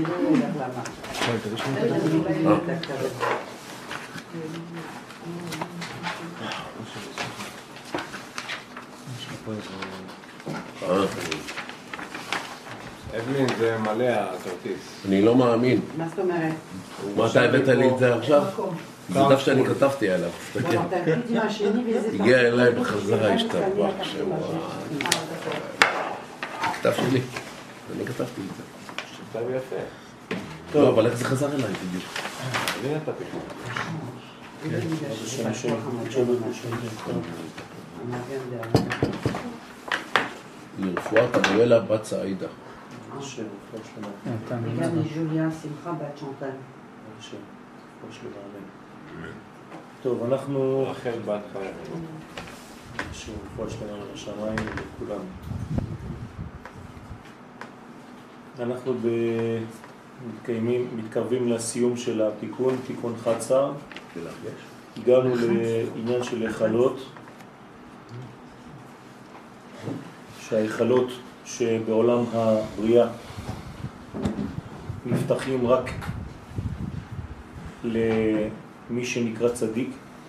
אבלין, זה מלא הכרטיס. אני לא מאמין. מה זאת אומרת? מה אתה הבאת לי את זה עכשיו? זה דף שאני כתבתי עליו. הגיע אליי בחזרה השתבח שבוע. כתב שלי. אני כתבתי את זה. שכתב יפה. לא, אבל איך זה חזר אליי בדיוק? אני נתתי. לרפואת אריאלה בת סעידה. וגם לג'וליה שמחה בת צ'נטל. טוב, אנחנו... רחל בת חיה. שרפואה שלמה לשמיים לכולם. אנחנו מתקרבים לסיום של התיקון, תיקון חצר. הגענו לעניין של היכלות, שההיכלות שבעולם הבריאה נפתחים רק למי שנקרא צדיק,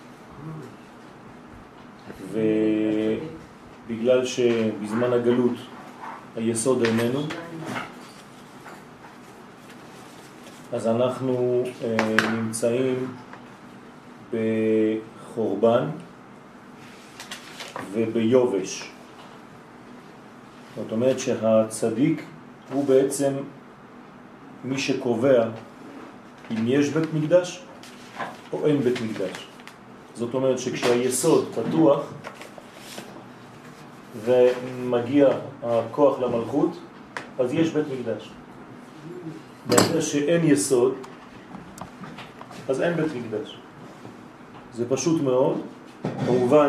ובגלל שבזמן הגלות היסוד איננו, אז אנחנו נמצאים בחורבן וביובש. זאת אומרת שהצדיק הוא בעצם מי שקובע אם יש בית מקדש או אין בית מקדש. זאת אומרת שכשהיסוד פתוח ומגיע הכוח למלכות, אז יש בית מקדש. ברגע שאין יסוד, אז אין בית מקדש. זה פשוט מאוד. כמובן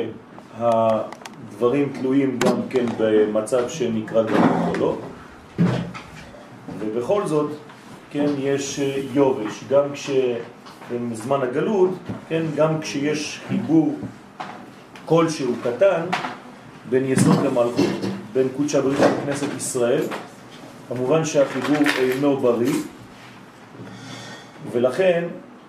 שהדברים תלויים גם כן במצב שנקרא גלות או לא. ובכל זאת, כן, יש יובש. גם בזמן הגלות, כן, גם כשיש חיבור כלשהו קטן בין יסוד למלכות, בין קודש הבריך לכנסת ישראל, כמובן שהחיבור אינו בריא, ולכן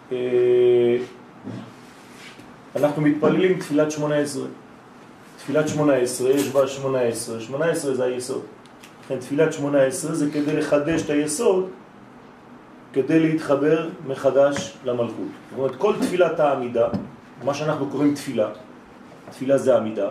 אנחנו מתפללים תפילת 18. תפילת 18 יש בה 18, 18 זה היסוד. לכן תפילת 18 זה כדי לחדש את היסוד, כדי להתחבר מחדש למלכות. זאת אומרת, כל תפילת העמידה, מה שאנחנו קוראים תפילה, תפילה זה עמידה.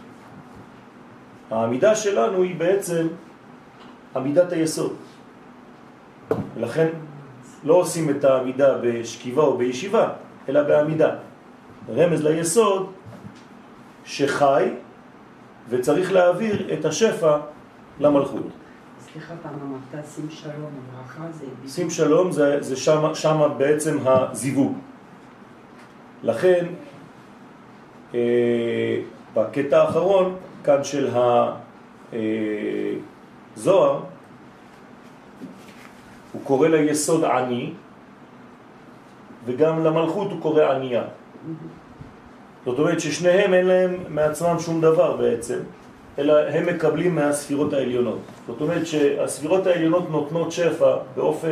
העמידה שלנו היא בעצם עמידת היסוד. ולכן לא עושים את העמידה בשכיבה או בישיבה, אלא בעמידה. רמז ליסוד שחי וצריך להעביר את השפע למלכות. סליחה, פעם אמרת שים שלום, ברכה זה... שים שלום זה שם בעצם הזיווג. לכן, בקטע האחרון, כאן של הזוהר, הוא קורא ליסוד עני, וגם למלכות הוא קורא ענייה. זאת אומרת ששניהם אין להם מעצמם שום דבר בעצם, אלא הם מקבלים מהספירות העליונות. זאת אומרת שהספירות העליונות נותנות שפע באופן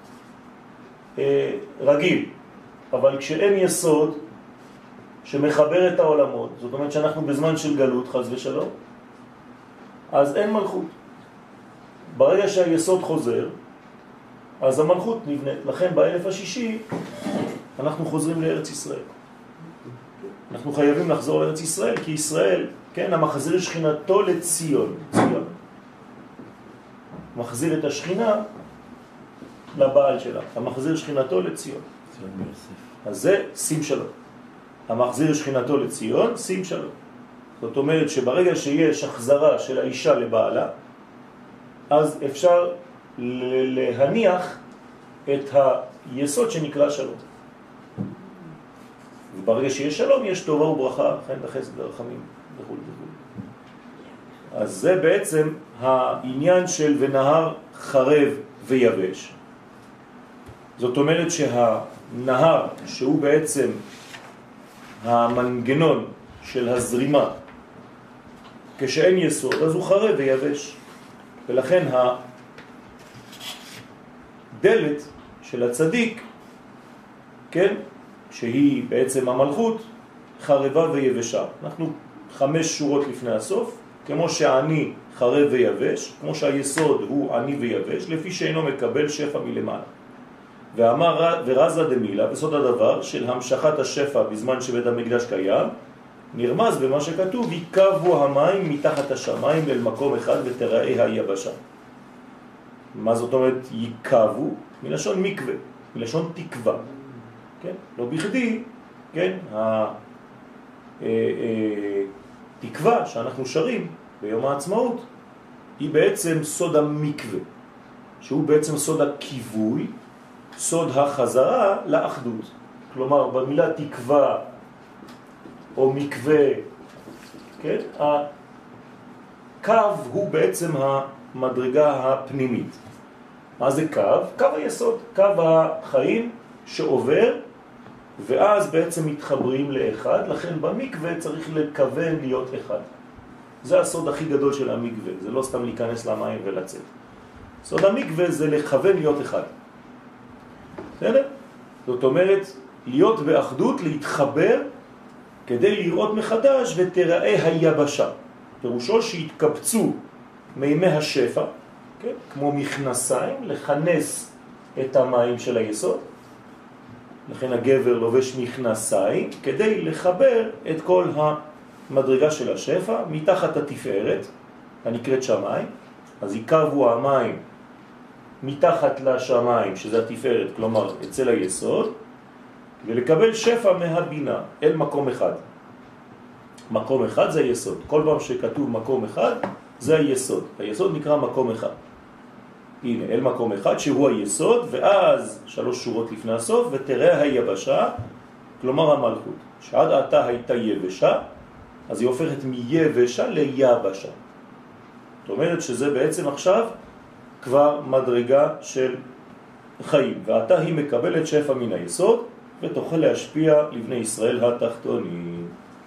רגיל, אבל כשאין יסוד שמחבר את העולמות, זאת אומרת שאנחנו בזמן של גלות, חס ושלום, אז אין מלכות. ברגע שהיסוד חוזר, אז המלכות נבנית. לכן באלף השישי אנחנו חוזרים לארץ ישראל. אנחנו חייבים לחזור לארץ ישראל, כי ישראל, כן, המחזיר שכינתו לציון, ציון. מחזיר את השכינה לבעל שלה, המחזיר שכינתו לציון. אז זה שים שלום. המחזיר שכינתו לציון, שים שלום. זאת אומרת שברגע שיש החזרה של האישה לבעלה, אז אפשר להניח את היסוד שנקרא שלום. וברגע שיש שלום יש טובה וברכה, חן וחסד ורחמים וכו' וכו'. אז זה בעצם העניין של ונהר חרב ויבש. זאת אומרת שהנהר שהוא בעצם המנגנון של הזרימה, כשאין יסוד אז הוא חרב ויבש. ולכן הדלת של הצדיק, כן, שהיא בעצם המלכות, חרבה ויבשה. אנחנו 5 שורות לפני הסוף, כמו שעני חרב ויבש, כמו שהיסוד הוא עני ויבש, לפי שאינו מקבל שפע מלמעלה. ואמר ורזה דמילה, בסוד הדבר של המשכת השפע בזמן שבית המקדש קיים, נרמז במה שכתוב, יקבו המים מתחת השמיים אל מקום אחד ותראה היבשה. מה זאת אומרת יקבו? מלשון מקווה, מלשון תקווה. כן? לא בכדי, כן? התקווה שאנחנו שרים ביום העצמאות היא בעצם סוד המקווה, שהוא בעצם סוד הכיווי, סוד החזרה לאחדות. כלומר, במילה תקווה או מקווה, כן? הקו הוא בעצם המדרגה הפנימית. מה זה קו? קו היסוד, קו החיים שעובר, ואז בעצם מתחברים לאחד, לכן במקווה צריך לכוון להיות אחד. זה הסוד הכי גדול של המקווה, זה לא סתם להיכנס למים ולצאת. סוד המקווה זה לכוון להיות אחד. בסדר? זאת אומרת, להיות באחדות, להתחבר, כדי לראות מחדש ותראה היבשה. פירושו שהתקבצו מימי השפע, כן? כמו מכנסיים, לכנס את המים של היסוד. לכן הגבר לובש מכנסיים, כדי לחבר את כל המדרגה של השפע מתחת התפארת, הנקראת שמיים. אז יקבו המים מתחת לשמיים, שזה התפארת, כלומר אצל היסוד, ולקבל שפע מהבינה אל מקום אחד. מקום אחד זה היסוד. כל פעם שכתוב מקום אחד, זה היסוד. היסוד נקרא מקום אחד. הנה, אל מקום אחד שהוא היסוד, ואז 3 שורות לפני הסוף, ותראה היבשה, כלומר המלכות. שעד עתה הייתה יבשה, אז היא הופכת מיבשה ליבשה. זאת אומרת שזה בעצם עכשיו כבר מדרגה של חיים, ועתה היא מקבלת שפע מן היסוד, ותוכל להשפיע לבני ישראל התחתונים.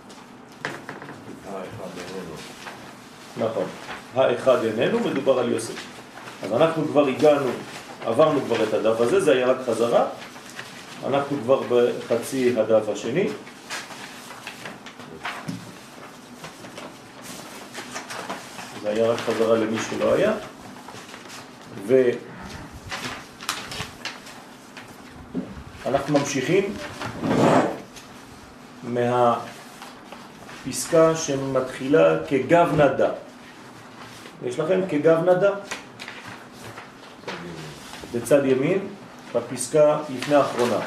האחד איננו. נכון. האחד איננו, מדובר על יוסף. אז אנחנו כבר הגענו, עברנו כבר את הדף הזה, זה היה רק חזרה. אנחנו כבר בחצי הדף השני. זה היה רק חזרה למי שלא היה. ואנחנו ממשיכים מהפסקה שמתחילה כגב נדה. יש לכם כגב נדה? בצד ימין, בפסקה לפני האחרונה.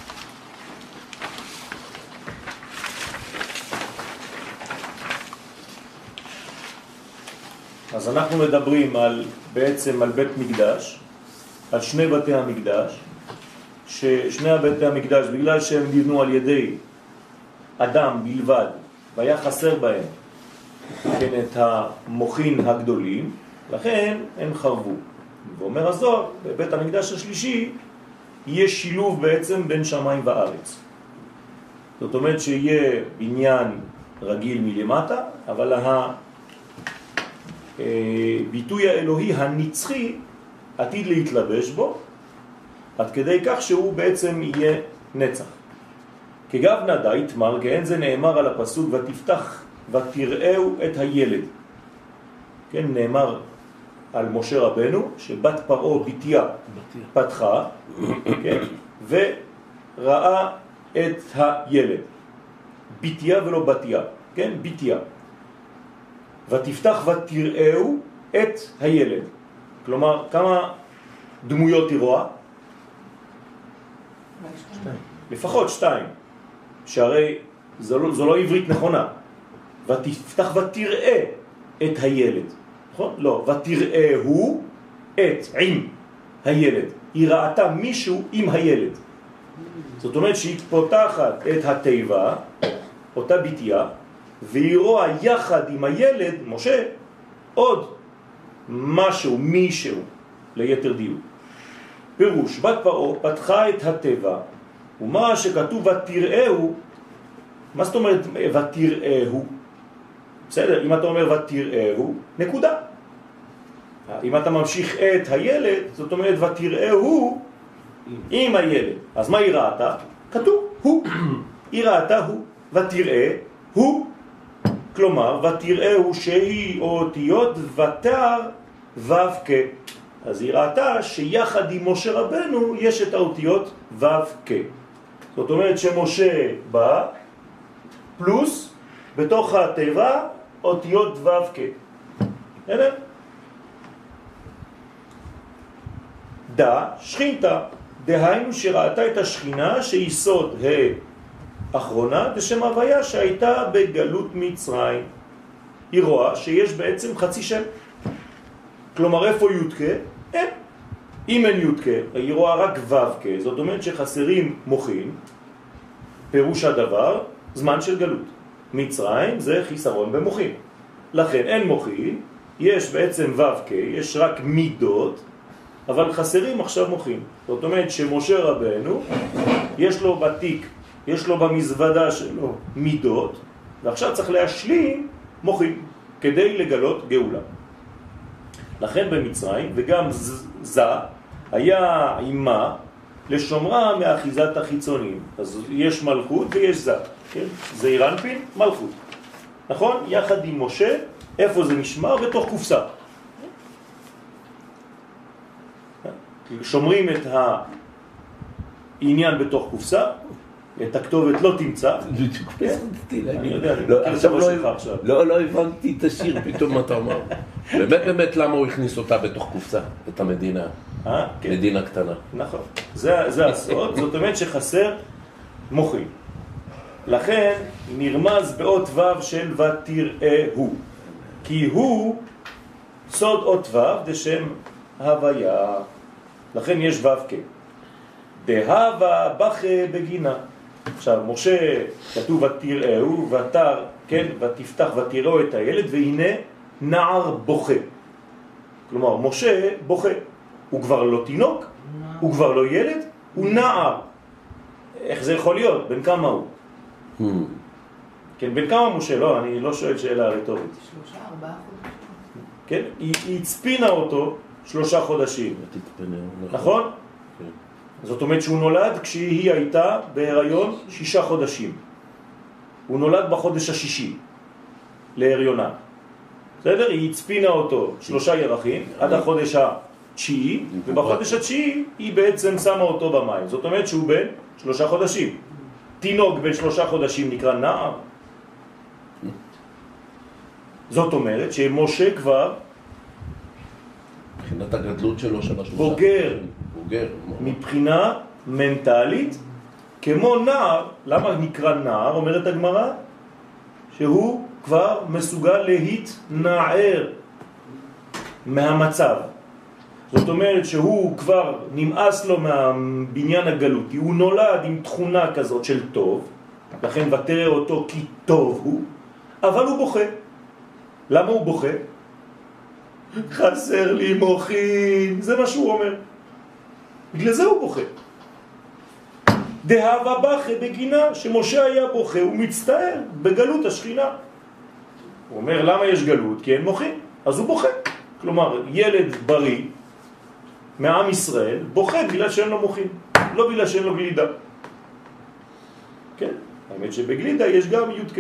אז אנחנו מדברים בעצם על בית מקדש, על 2 בתי המקדש, ששני בתי המקדש, בגלל שהם נבנו על ידי אדם בלבד, והיה חסר בהם כן, את המוחין הגדולים, לכן הם חרבו. ואומר הזוהר, בבית המקדש השלישי יהיה שילוב בעצם בין שמיים וארץ. זאת אומרת שיהיה בניין רגיל מלמטה, אבל הביטוי האלוהי הנצחי עתיד להתלבש בו, עד כדי כך שהוא בעצם יהיה נצח. כגב נדה יתמר, כן, זה נאמר על הפסוק ותפתח ותראו את הילד. כן, נאמר על משה רבנו שבת פרעה בתיה פתחה, כן, וראה את הילד. בתיה ולא בתיה, כן, בתיה. ותפתח ותראו את הילד. כלומר, כמה דמויות היא רואה? לפחות 2. שהרי זו לא עברית נכונה. ותפתח ותראה את הילד. נכון? לא, ותראהו את עם הילד. היא ראתה מישהו עם הילד. זאת אומרת שהיא פותחת את הטבע, אותה בתיה, והיא רואה יחד עם הילד, משה, עוד משהו, מישהו, ליתר דיוק. פירוש, בת פרעה פתחה את הטבע, ומה שכתוב ותראהו, מה זאת אומרת ותראהו? בסדר, אם אתה אומר ותראהו, נקודה. אם אתה ממשיך את הילד, זאת אומרת ותראה הוא עם הילד. אז מה היא ראתה? כתוב הוא. היא ראתה הוא. ותראה הוא. כלומר, ותראה הוא שהיא אותיות ותר ו"ק. אז היא ראתה שיחד עם משה רבנו יש את האותיות ו"ק. זאת אומרת שמשה בא פלוס בתוך התיבה אותיות ו"ק. הנה? שכינתה, דהיינו שראתה את השכינה שהיא סוד האחרונה בשם הוויה שהייתה בגלות מצרים. היא רואה שיש בעצם חצי שם. כלומר איפה י"ק? אין. אם אין י"ק, היא רואה רק ו"ק, זאת אומרת שחסרים מוחין. פירוש הדבר, זמן של גלות. מצרים זה חיסרון במוחין. לכן אין מוחין, יש בעצם ו"ק, יש רק מידות, אבל חסרים עכשיו מוחין. זאת אומרת שמשה רבנו, יש לו בתיק, יש לו במזוודה שלו מידות, ועכשיו צריך להשלים מוחין, כדי לגלות גאולה. לכן במצרים, וגם זה, היה אימה לשומרה מאחיזת החיצונים. אז יש מלכות ויש זה. כן? זה אירנפין, מלכות. נכון? יחד עם משה, איפה זה נשמר? בתוך קופסה. שומרים את העניין בתוך קופסה, את הכתובת לא תמצא. אני יודע, לא הבנתי את השיר פתאום אתה אומר. באמת למה הוא הכניס אותה בתוך קופסה, את המדינה, מדינה קטנה. נכון, זה הסוד, זאת אומרת שחסר מוחין. לכן נרמז באות ו' של ותראה הוא, כי הוא סוד אות ו' דשם הוויה, לכן יש ו"ק. דהבה בכה בגינה. עכשיו משה כתוב ותראהו ותר, כן, ותפתח ותראו את הילד, והנה נער בוכה. כלומר משה בוכה, הוא כבר לא תינוק, הוא כבר לא ילד, הוא נער. איך זה יכול להיות? בן כמה הוא? כן, בן כמה משה? לא, אני לא שואל שאלה רטורית. 3-4 חודשים. כן, היא הצפינה אותו 3 חודשים. נכון? זאת אומרת שהוא נולד כשהיא הייתה בהיריון 6 חודשים. הוא נולד בחודש השישי להריונה. בסדר? היא הצפינה אותו 3 ירחים עד החודש התשיעי, ובחודש התשיעי היא בעצם שמה אותו במים. זאת אומרת שהוא בן 3 חודשים. תינוק בן 3 חודשים נקרא נער. זאת אומרת שמשה כבר מבחינת הגדלות שלו של בוגר מבחינה מנטלית כמו נער. למה נקרא נער? אומרת הגמרא שהוא כבר מסוגל להתנער מהמצב. זאת אומרת שהוא כבר נמאס לו מהבניין הגלותי, הוא נולד עם תכונה כזאת של טוב, לכן ותראה אותו כי טוב הוא, אבל הוא בוכה. למה הוא בוכה? חסר לי מוחין, זה מה שהוא אומר. בגלל זה הוא בוכה. דהבה בכה בגינה, שמשה היה בוכה, הוא מצטער בגלות השכינה. הוא אומר למה יש גלות? כי אין מוחין, אז הוא בוכה. כלומר ילד בריא מעם ישראל בוכה בגלל שאין לו מוחין, לא בגלל שאין לו גלידה. כן, האמת שבגלידה יש גם י"ק.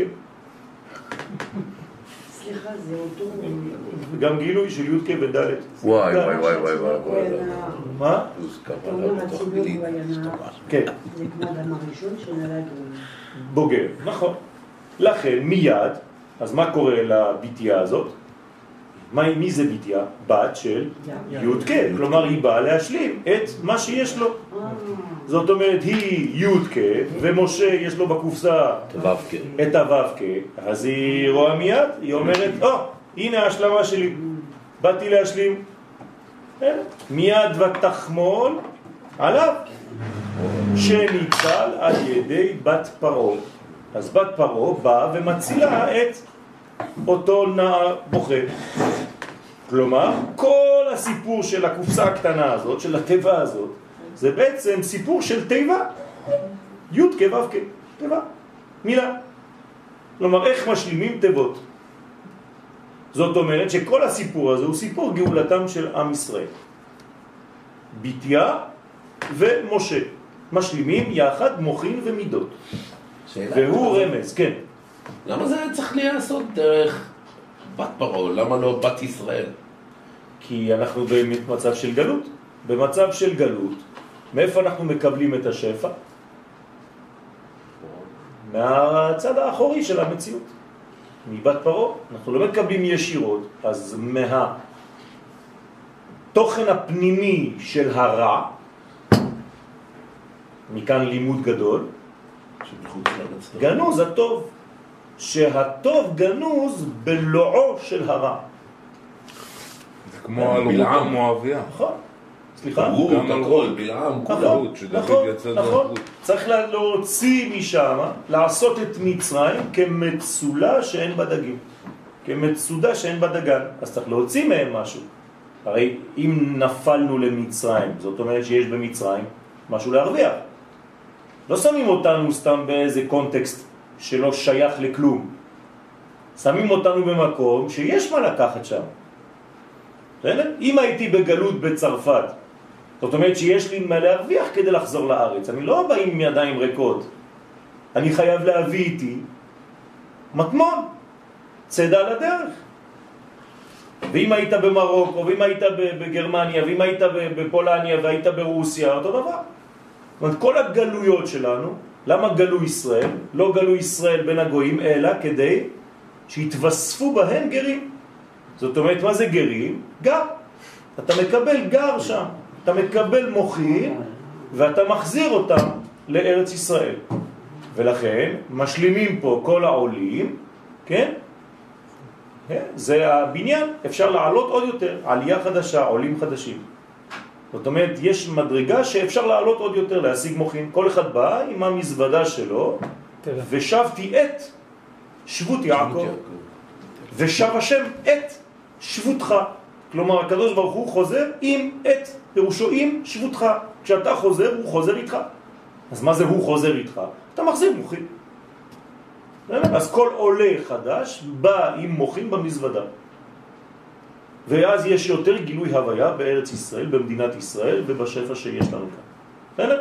סליחה, זה אותו... גם גילוי של י"ק וד'. וואי. מה? אתה אומר הציבור הוא היה נער. כן. זה כמו אדם הראשון שנולד בוגר, נכון. לכן מיד, אז מה קורה לביתיה הזאת? מי זה ביתיה? בת של י"ק. כלומר היא באה להשלים את מה שיש לו. זאת אומרת היא י"ק ומשה יש לו בקופסה את הו"ק. אז היא רואה מיד, היא אומרת הנה ההשלמה שלי, באתי להשלים. מיד ותחמול עליו שניצל על ידי בת פרעה. אז בת פרעה באה ומצילה את אותו נער בוכה. כלומר כל הסיפור של הקופסה הקטנה הזאת, של הטבע הזאת, זה בעצם סיפור של טבע. י' כו' כטבע, מילה. כלומר איך משלימים טבות? זאת אומרת שכל הסיפור הזה הוא סיפור גאולתם של עם ישראל. ביתיה ומשה משלימים יחד מוחין ומידות. והוא רמז, כן. למה זה צריך להיעשות דרך בת פרעה? למה לא בת ישראל? כי אנחנו במצב של גלות. במצב של גלות, מאיפה אנחנו מקבלים את השפע? מהצד האחורי של המציאות. מבת פרעה. אנחנו לא מקבלים ישירות, אז מהתוכן הפנימי של הרע, מכאן לימוד גדול, גנוז הטוב, שהטוב גנוז בלועו של הרע. זה כמו אלומות המואביה. נכון. סליחה? הוא הכל, בלעם, נכון, נכון. צריך להוציא משם, לעשות את מצרים כמצולה שאין בה דגים. כמצודה שאין בה דגן. אז צריך להוציא מהם משהו. הרי אם נפלנו למצרים, זאת אומרת שיש במצרים משהו להרוויח. לא שמים אותנו סתם באיזה קונטקסט שלא שייך לכלום. שמים אותנו במקום שיש מה לקחת שם. אם הייתי בגלות בצרפת, זאת אומרת שיש לי מה להרוויח כדי לחזור לארץ. אני לא בא עם ידיים ריקות. אני חייב להביא איתי מטמון, צדה לדרך. ואם היית במרוקו, ואם היית בגרמניה, ואם היית בפולניה, והיית ברוסיה, אותו דבר. זאת אומרת, כל הגלויות שלנו, למה גלו ישראל? לא גלו ישראל בין הגויים, אלא כדי שיתווספו בהן גרים. זאת אומרת, מה זה גרים? גר. אתה מקבל גר שם. אתה מקבל מוחין, ואתה מחזיר אותם לארץ ישראל. ולכן, משלימים פה כל העולים, כן? זה הבניין, אפשר לעלות עוד יותר, עלייה חדשה, עולים חדשים. זאת אומרת, יש מדרגה שאפשר לעלות עוד יותר, להשיג מוחין. כל אחד בא עם המזוודה שלו, ושבתי את שבות יעקב, ושב השם את שבותך. כלומר, הקדוש ברוך הוא חוזר עם את, פירושו עם שבותך. כשאתה חוזר, הוא חוזר איתך. אז מה זה הוא חוזר איתך? אתה מחזיר מוחין. אז כל עולה חדש בא עם מוחין במזוודה. ואז יש יותר גילוי הוויה בארץ ישראל, במדינת ישראל ובשפע שיש לנו כאן. בסדר?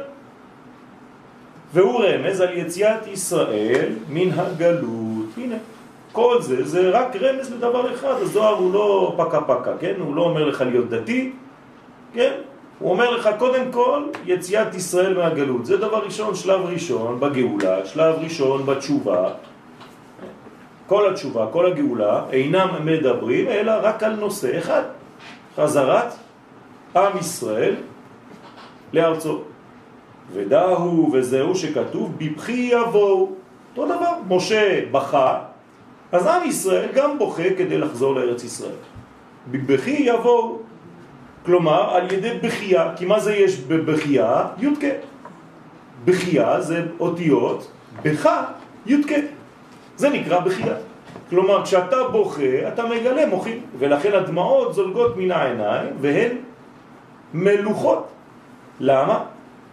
והוא רמז על יציאת ישראל מן הגלות. הנה, כל זה, זה רק רמז לדבר אחד. הזוהר הוא לא פקה פקה, כן? הוא לא אומר לך להיות דתי, כן? הוא אומר לך קודם כל יציאת ישראל מהגלות. זה דבר ראשון, שלב ראשון בגאולה, שלב ראשון בתשובה. כל התשובה, כל הגאולה, אינם מדברים, אלא רק על נושא אחד. חזרת עם ישראל לארצו. ודאו וזהו שכתוב, בבכי יבואו. אותו דבר, משה בכה, אז עם ישראל גם בוכה כדי לחזור לארץ ישראל. בבכי יבואו. כלומר, על ידי בחייה. כי מה זה יש בבחייה? יודקה. בחייה זה אותיות, בכה, יודקה. זה נקרא בחייה. כלומר, כשאתה בוכה, אתה מגלה מוחין. ולכן הדמעות זולגות מן העיניים, והן מלוכות. למה?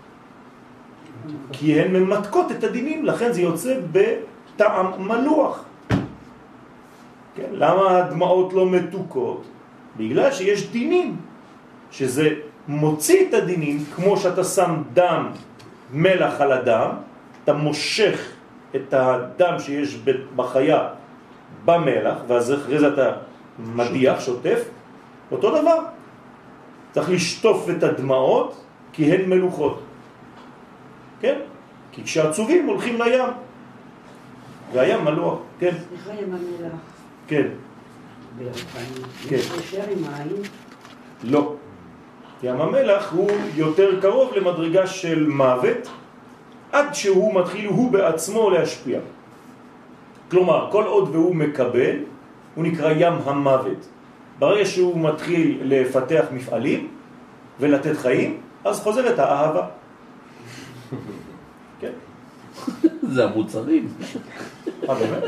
כי הן ממתקות את הדינים, לכן זה יוצא בטעם מלוח. כן? למה הדמעות לא מתוקות? בגלל שיש דינים, שזה מוציא את הדינים, כמו שאתה שם דם מלח על הדם, אתה מושך את הדם שיש בחיה במלח, ואז אחרי זה אתה מדיח, שוטף, אותו דבר. צריך לשטוף את הדמעות, כי הן מלוכות. כן? כי כשעצובים הולכים לים, והים מלוח, כן? סליחה, ים המלח. כן. כן. יש קשר עם מים? לא. ים המלח הוא יותר קרוב למדרגה של מוות, עד שהוא מתחיל הוא בעצמו להשפיע. כלומר, כל עוד והוא מקבל, הוא נקרא ים המוות. ברגע שהוא מתחיל לפתח מפעלים ולתת חיים, אז חוזרת האהבה. כן? זה המוצרים. באמת?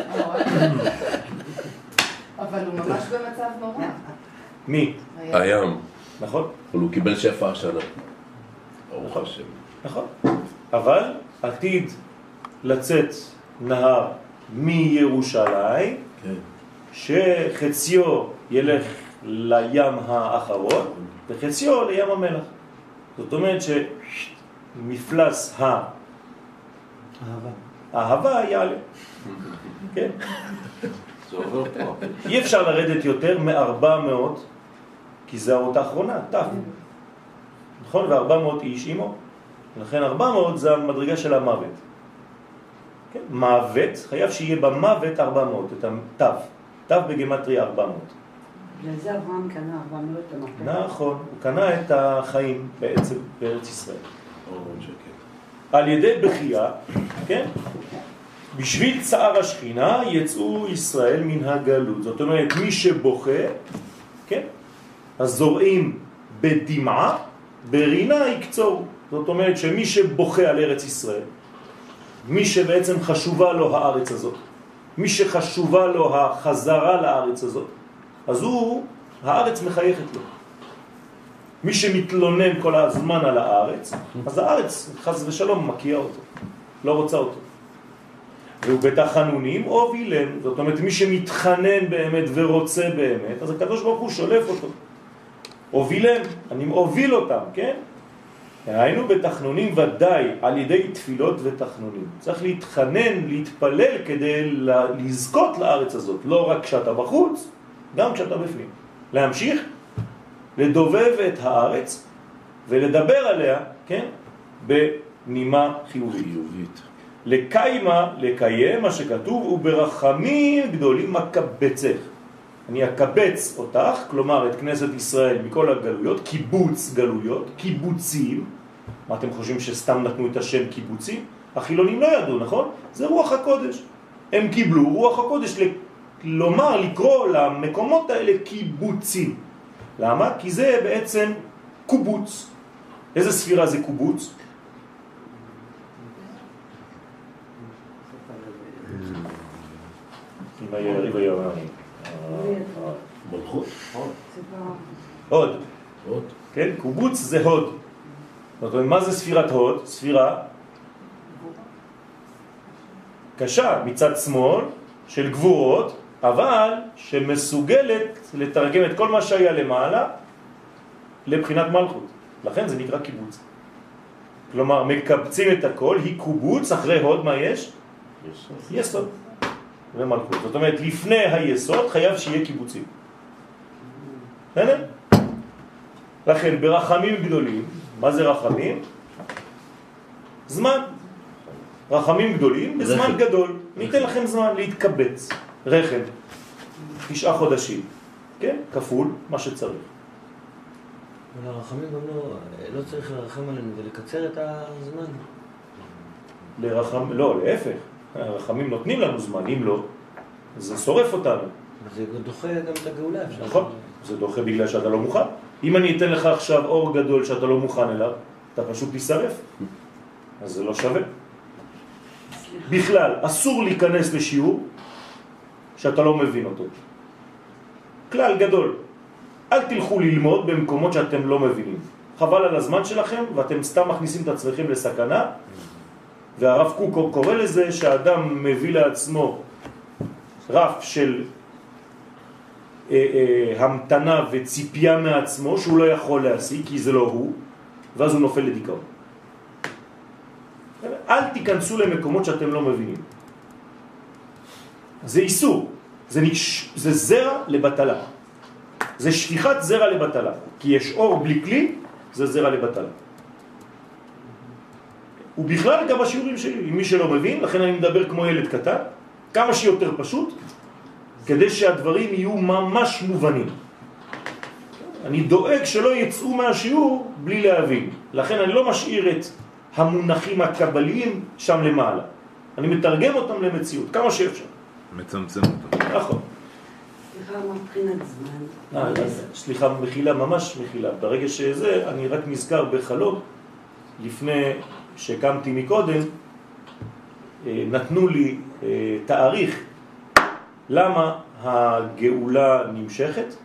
אבל הוא ממש במצב נורא. מי? הים. נכון? אבל הוא קיבל שפע השנה. ברוך השם. נכון. אבל עתיד לצאת נהר מירושלים, שחציו ילך לים האחרון וחציו לים המלח. זאת אומרת שמפלס האהבה יעלה. כן? זה עובר פה. אי אפשר לרדת יותר מ-400, כי זה האות האחרונה, תף. נכון? ו-400 איש אימו. לכן 400 זה המדרגה של המוות. כן? מוות, חייב שיהיה במוות 400, את התף. תף בגמטריה 400. לזה אברהם קנה 400 המפתח. נכון, הוא קנה את החיים בעצם בארץ ישראל. על ידי בחייה, כן? בשביל צער השכינה יצאו ישראל מן הגלות. זאת אומרת, מי שבוכה, כן? הזורעים בדמעה, ברינה יקצור. זאת אומרת שמי שבוכה על ארץ ישראל, מי שבעצם חשובה לו הארץ הזאת, מי שחשובה לו החזרה לארץ הזאת, אז הארץ מחייכת לו. מי שמתלונן כל הזמן על הארץ, אז הארץ חס ושלום מקיע אותו, לא רוצה אותו. והוא בתחנונים הובילם, זאת אומרת מי שמתחנן באמת ורוצה באמת, אז הקדוש ברוך הוא שולף אותו. הובילם, אני מוביל אותם, כן? היינו בתחנונים ודאי על ידי תפילות ותחנונים. צריך להתחנן, להתפלל כדי לזכות לארץ הזאת, לא רק כשאתה בחוץ, גם כשאתה בפנים. להמשיך לדובב את הארץ ולדבר עליה, כן? בנימה חיובית. לקיים מה שכתוב, וברחמים גדולים מקבצך. אני אקבץ אותך, כלומר את כנסת ישראל מכל הגלויות, קיבוץ גלויות, קיבוצים. מה אתם חושבים שסתם נתנו את השם קיבוצים? החילונים לא ידעו, נכון? זה רוח הקודש. הם קיבלו רוח הקודש לומר, לקרוא למקומות האלה קיבוצים. למה? כי זה בעצם קובוץ. איזה ספירה זה קובוץ? עם היריב הירמני. מלכות? הוד. הוד. כן? קובוץ זה הוד. זאת אומרת, מה זה ספירת הוד? ספירה קשה מצד שמאל של גבורות, אבל שמסוגלת לתרגם את כל מה שהיה למעלה לבחינת מלכות. לכן זה נקרא קיבוץ. כלומר, מקבצים את הכל, היא קובוץ, אחרי הוד מה יש? יסוד. ומלכות. זאת אומרת, לפני היסוד חייב שיהיה קיבוצים. בסדר? לכן, ברחמים גדולים, מה זה רחמים? זמן. רחמים גדולים בזמן גדול. ניתן לכם זמן להתקבץ. רחם. 9 חודשים. כן? כפול מה שצריך. אבל הרחמים גם לא צריך לרחם עלינו ולקצר את הזמן. לא, להפך. הרחמים נותנים לנו זמן, אם לא, זה שורף אותנו. זה דוחה גם את הגאולה. נכון, זה דוחה בגלל שאתה לא מוכן. אם אני אתן לך עכשיו אור גדול שאתה לא מוכן אליו, אתה פשוט תישרף. אז זה לא שווה. בכלל, אסור להיכנס לשיעור שאתה לא מבין אותו. כלל גדול. אל תלכו ללמוד במקומות שאתם לא מבינים. חבל על הזמן שלכם, ואתם סתם מכניסים את עצמכם לסכנה, והרב קוק קורא לזה שהאדם מביא לעצמו רף של המתנה וציפייה מעצמו שהוא לא יכול להשיג, כי זה לא הוא, ואז הוא נופל לדיכאון. אל תיכנסו למקומות שאתם לא מבינים. זה איסור, זה זרע לבטלה. זה שפיכת זרע לבטלה, כי יש אור בלי כלי, זה זרע לבטלה. ובכלל גם השיעורים שלי, עם מי שלא מבין, לכן אני מדבר כמו ילד קטן, כמה שיותר פשוט, כדי שהדברים יהיו ממש מובנים. אני דואג שלא יצאו מהשיעור בלי להבין. לכן אני לא משאיר את המונחים הקבליים שם למעלה. אני מתרגם אותם למציאות, כמה שאפשר. מצמצם אותם. נכון. סליחה, מבחינת זמן. סליחה, מחילה, ממש מחילה. ברגע שזה, אני רק נזכר בחלום, לפני שקמתי מקודם, נתנו לי תאריך למה הגאולה נמשכת,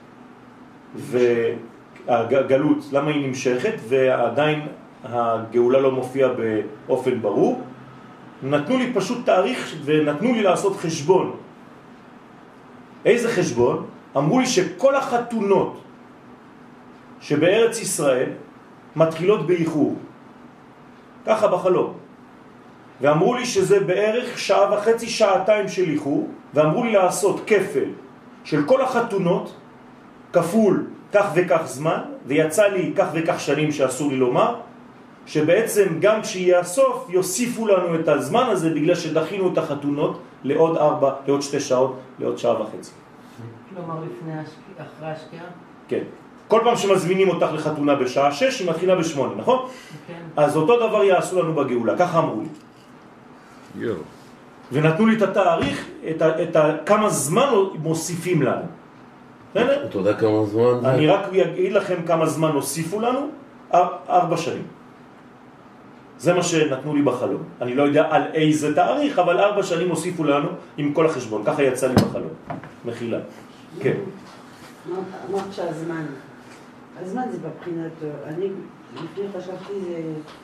והגלות, למה היא נמשכת, ועדיין הגאולה לא מופיעה באופן ברור. נתנו לי פשוט תאריך ונתנו לי לעשות חשבון. איזה חשבון? אמרו לי שכל החתונות שבארץ ישראל מתחילות באיחור. ככה בחלום. ואמרו לי שזה בערך שעה וחצי, שעתיים של איחור, ואמרו לי לעשות כפל של כל החתונות, כפול כך וכך זמן, ויצא לי כך וכך שנים שאסור לי לומר, שבעצם גם כשיהיה הסוף יוסיפו לנו את הזמן הזה בגלל שדחינו את החתונות לעוד 2 שעות, לעוד שעה וחצי. כלומר אחרי השקיעה? כן. כל פעם שמזמינים אותך לחתונה בשעה 6, היא מתחילה ב8, נכון? כן. אז אותו דבר יעשו לנו בגאולה, ככה אמרו לי. ונתנו לי את התאריך, כמה זמן מוסיפים לנו. אתה יודע כמה זמן זה? אני רק אגיד לכם כמה זמן הוסיפו לנו, 4 שנים. זה מה שנתנו לי בחלום. אני לא יודע על איזה תאריך, אבל 4 שנים הוסיפו לנו עם כל החשבון. ככה יצא לי בחלום. מחילה. כן. אמרת שהזמן. הזמן זה בבחינת... אני לפני חשבתי זה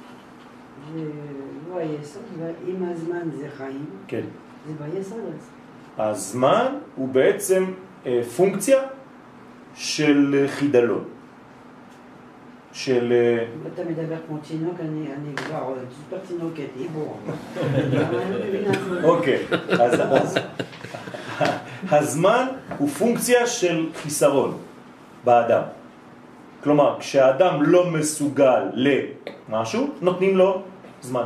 לא היסוד, ואם הזמן זה חיים, כן. זה ביסוד. הזמן הוא בעצם פונקציה של חידלון. של... אתה מדבר כמו תינוק, אני כבר סופר תינוקת, איבור. אוקיי, אז הזמן הוא פונקציה של חיסרון באדם. כלומר, כשהאדם לא מסוגל למשהו, נותנים לו זמן.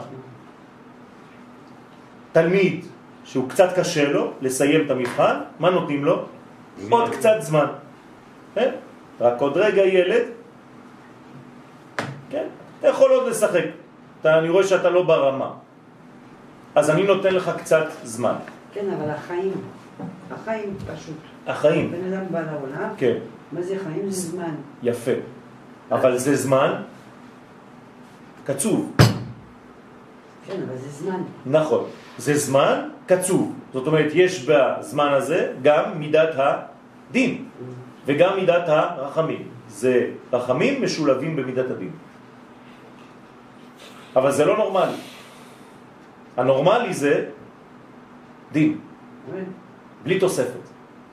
תלמיד שהוא קצת קשה לו לסיים את המבחן, מה נותנים לו? עוד קצת זמן. רק עוד רגע ילד, כן? אתה יכול עוד לשחק. אני רואה שאתה לא ברמה. אז אני נותן לך קצת זמן. כן, אבל החיים פשוט. החיים. בן אדם בא לעולם. כן. מה זה חיים? זה זמן. יפה. אבל זה זמן קצוב. כן, אבל זה זמן. נכון. זה זמן קצוב. זאת אומרת, יש בזמן הזה גם מידת הדין וגם מידת הרחמים. זה רחמים משולבים במידת הדין. אבל זה לא נורמלי. הנורמלי זה דין. בלי תוספת.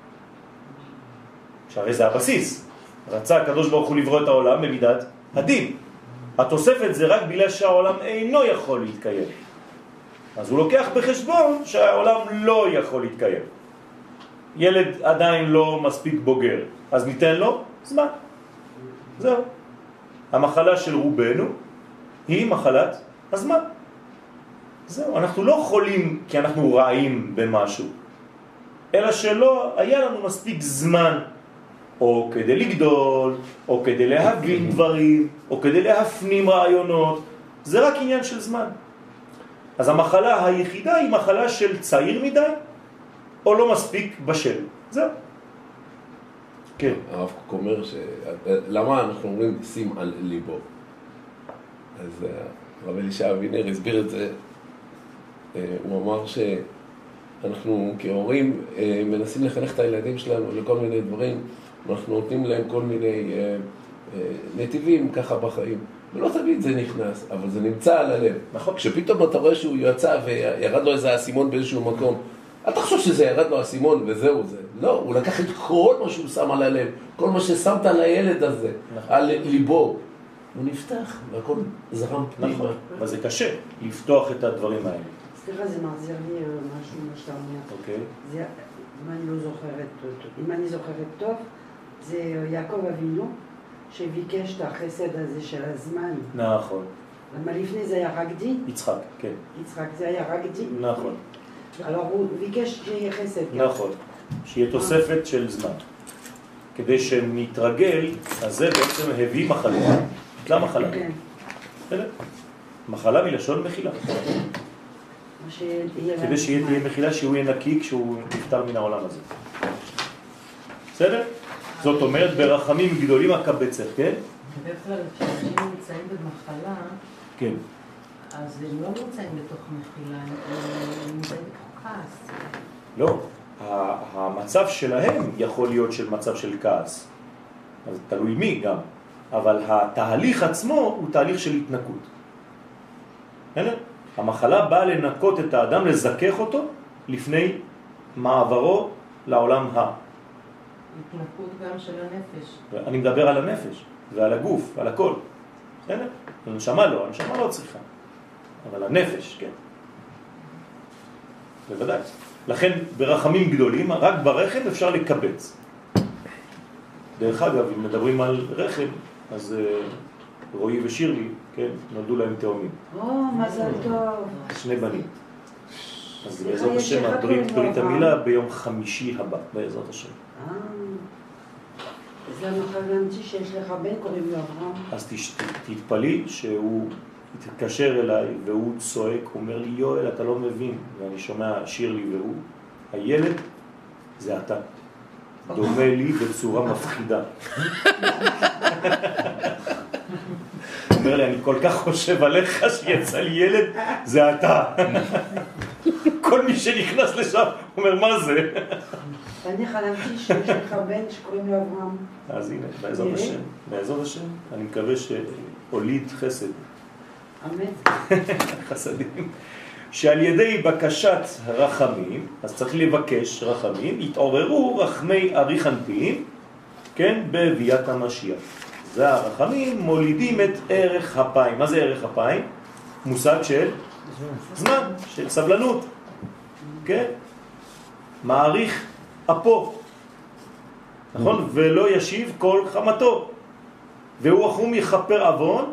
שהרי זה הבסיס. רצה הקדוש ברוך הוא לברוא את העולם במידת הדין. התוספת זה רק בגלל שהעולם אינו יכול להתקיים. אז הוא לוקח בחשבון שהעולם לא יכול להתקיים. ילד עדיין לא מספיק בוגר, אז ניתן לו זמן. זהו. המחלה של רובנו היא מחלת הזמן. זהו. אנחנו לא חולים כי אנחנו רעים במשהו, אלא שלא היה לנו מספיק זמן, או כדי לגדול, או כדי להבין דברים, או כדי להפנים רעיונות. זה רק עניין של זמן. אז המחלה היחידה היא מחלה של צעיר מדי, או לא מספיק בשל. זהו. כן. הרב קוק אומר למה אנחנו אומרים שים על ליבו? אז הרב אלישע אבינר הסביר את זה. הוא אמר שאנחנו כהורים מנסים לחנך את הילדים שלנו לכל מיני דברים, אנחנו נותנים להם כל מיני נתיבים ככה בחיים, ולא תמיד זה נכנס, אבל זה נמצא על הלב. נכון. כשפתאום אתה רואה שהוא יצא וירד לו איזה אסימון באיזשהו מקום, אל תחשוב שזה ירד לו אסימון וזהו זה. לא, הוא לקח את כל מה שהוא שם על הלב, כל מה ששמת על הילד הזה, נכון. על ליבו. הוא נפתח, והכל זרם פנימה. נכון, אבל זה קשה לפתוח את הדברים האלה. סליחה, זה מחזיר לי משהו מה שאתה אומר. אוקיי. זה, אם אני זוכרת טוב, זה יעקב אבינו שביקש את החסד הזה של הזמן. נכון. למה לפני זה היה רק דין? יצחק, כן. יצחק זה היה רק דין. נכון. alors הוא ביקש שיהיה חסד. נכון. שיהיה תוספת של זמן. כדי שנתרגל, אז זה בעצם הביא מחלה. נתלה מחלה. כן. מחלה מלשון מחילה. כדי שיהיה תהיה מחילה שהוא יהיה נקי כשהוא נפטר מן העולם הזה. בסדר? זאת אומרת ברחמים גדולים הקבצך, כן? בדרך כלל כשאנשים נמצאים במחלה, כן. אז הם לא נמצאים בתוך מחילה, הם נמצאים בתוך כעס. לא, המצב שלהם יכול להיות של מצב של כעס. אז תלוי מי גם. אבל התהליך עצמו הוא תהליך של התנקות. המחלה באה לנקות את האדם, לזכך אותו לפני מעברו לעולם התנקות גם של הנפש. אני מדבר על הנפש ועל הגוף, על הכל. בסדר? הנשמה לא צריכה. אבל הנפש, כן. בוודאי. לכן ברחמים גדולים, רק ברחם אפשר לקבץ. דרך אגב, אם מדברים על רחם, אז רועי ושירלי, כן, נולדו להם תאומים. מזל טוב. 2 בנים. אז בעזרת השם, ברית המילה ביום חמישי הבא, בעזרת השם. אז למה חלמתי שיש לך בן קוראים לו אברהם? אז תתפלי שהוא התקשר אליי והוא צועק, הוא אומר לי, יואל, אתה לא מבין. ואני שומע שירלי והוא, הילד זה אתה. דומה לי בצורה מפחידה. הוא אומר לי, אני כל כך חושב עליך שיצא לי ילד, זה אתה. כל מי שנכנס לשם אומר, מה זה? אני חלמתי שיש לך בן שקוראים לו אברהם. אז הנה, בעזרת השם. בעזרת השם, אני מקווה שהוליד חסד. אמן. חסדים. שעל ידי בקשת רחמים, אז צריך לבקש רחמים, יתעוררו רחמי אריך אנפין, כן, בביאת המשיח. זה הרחמים מולידים את ערך אפיים. מה זה ערך אפיים? מושג של זמן, של סבלנות. כן? מעריך אפו. נכון? ולא ישיב כל חמתו. והוא החום יכפר עוון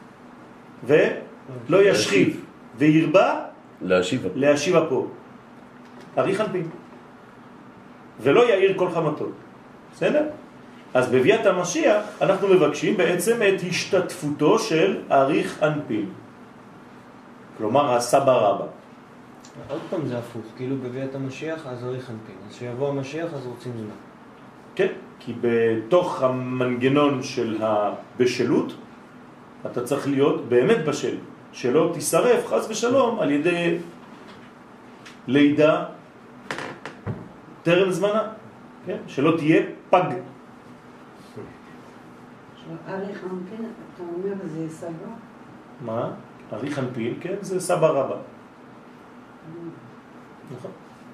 ולא ישחיב. וירבה להשיב אפו. אריך אנפין. ולא יאיר כל חמתו. בסדר? אז בביאת המשיח אנחנו מבקשים בעצם את השתתפותו של אריך אנפין. כלומר הסבא רבא. עוד פעם זה הפוך, כאילו בביאת המשיח אז אריך אנפין. אז שיבוא המשיח אז רוצים זמן. כן, כי בתוך המנגנון של הבשלות אתה צריך להיות באמת בשל. שלא תישרף חס ושלום על ידי לידה טרם זמנה. כן? שלא תהיה פג. אריך אנפין, אתה אומר זה סבא? מה? אריך אנפין, כן? זה סבא רבא. נכון.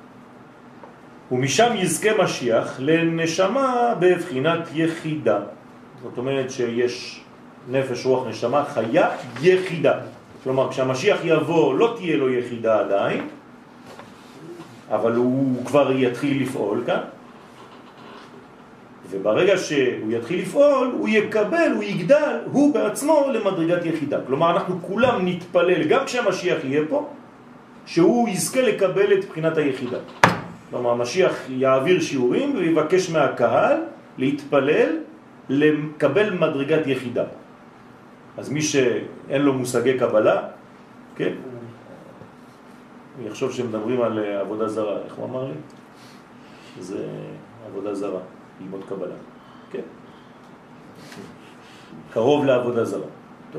ומשם יזכה משיח לנשמה בבחינת יחידה. זאת אומרת שיש נפש רוח נשמה חיה יחידה. כלומר כשהמשיח יבוא לא תהיה לו יחידה עדיין, אבל הוא כבר יתחיל לפעול כאן. וברגע שהוא יתחיל לפעול, הוא יקבל, הוא יגדל, הוא בעצמו למדרגת יחידה. כלומר, אנחנו כולם נתפלל, גם כשהמשיח יהיה פה, שהוא יזכה לקבל את בחינת היחידה. כלומר, המשיח יעביר שיעורים ויבקש מהקהל להתפלל, לקבל מדרגת יחידה. אז מי שאין לו מושגי קבלה, כן? אני חושב שמדברים על עבודה זרה. איך הוא אמר לי? זה עבודה זרה. ללמוד קבלה. כן. קרוב לעבודה זרה. טוב.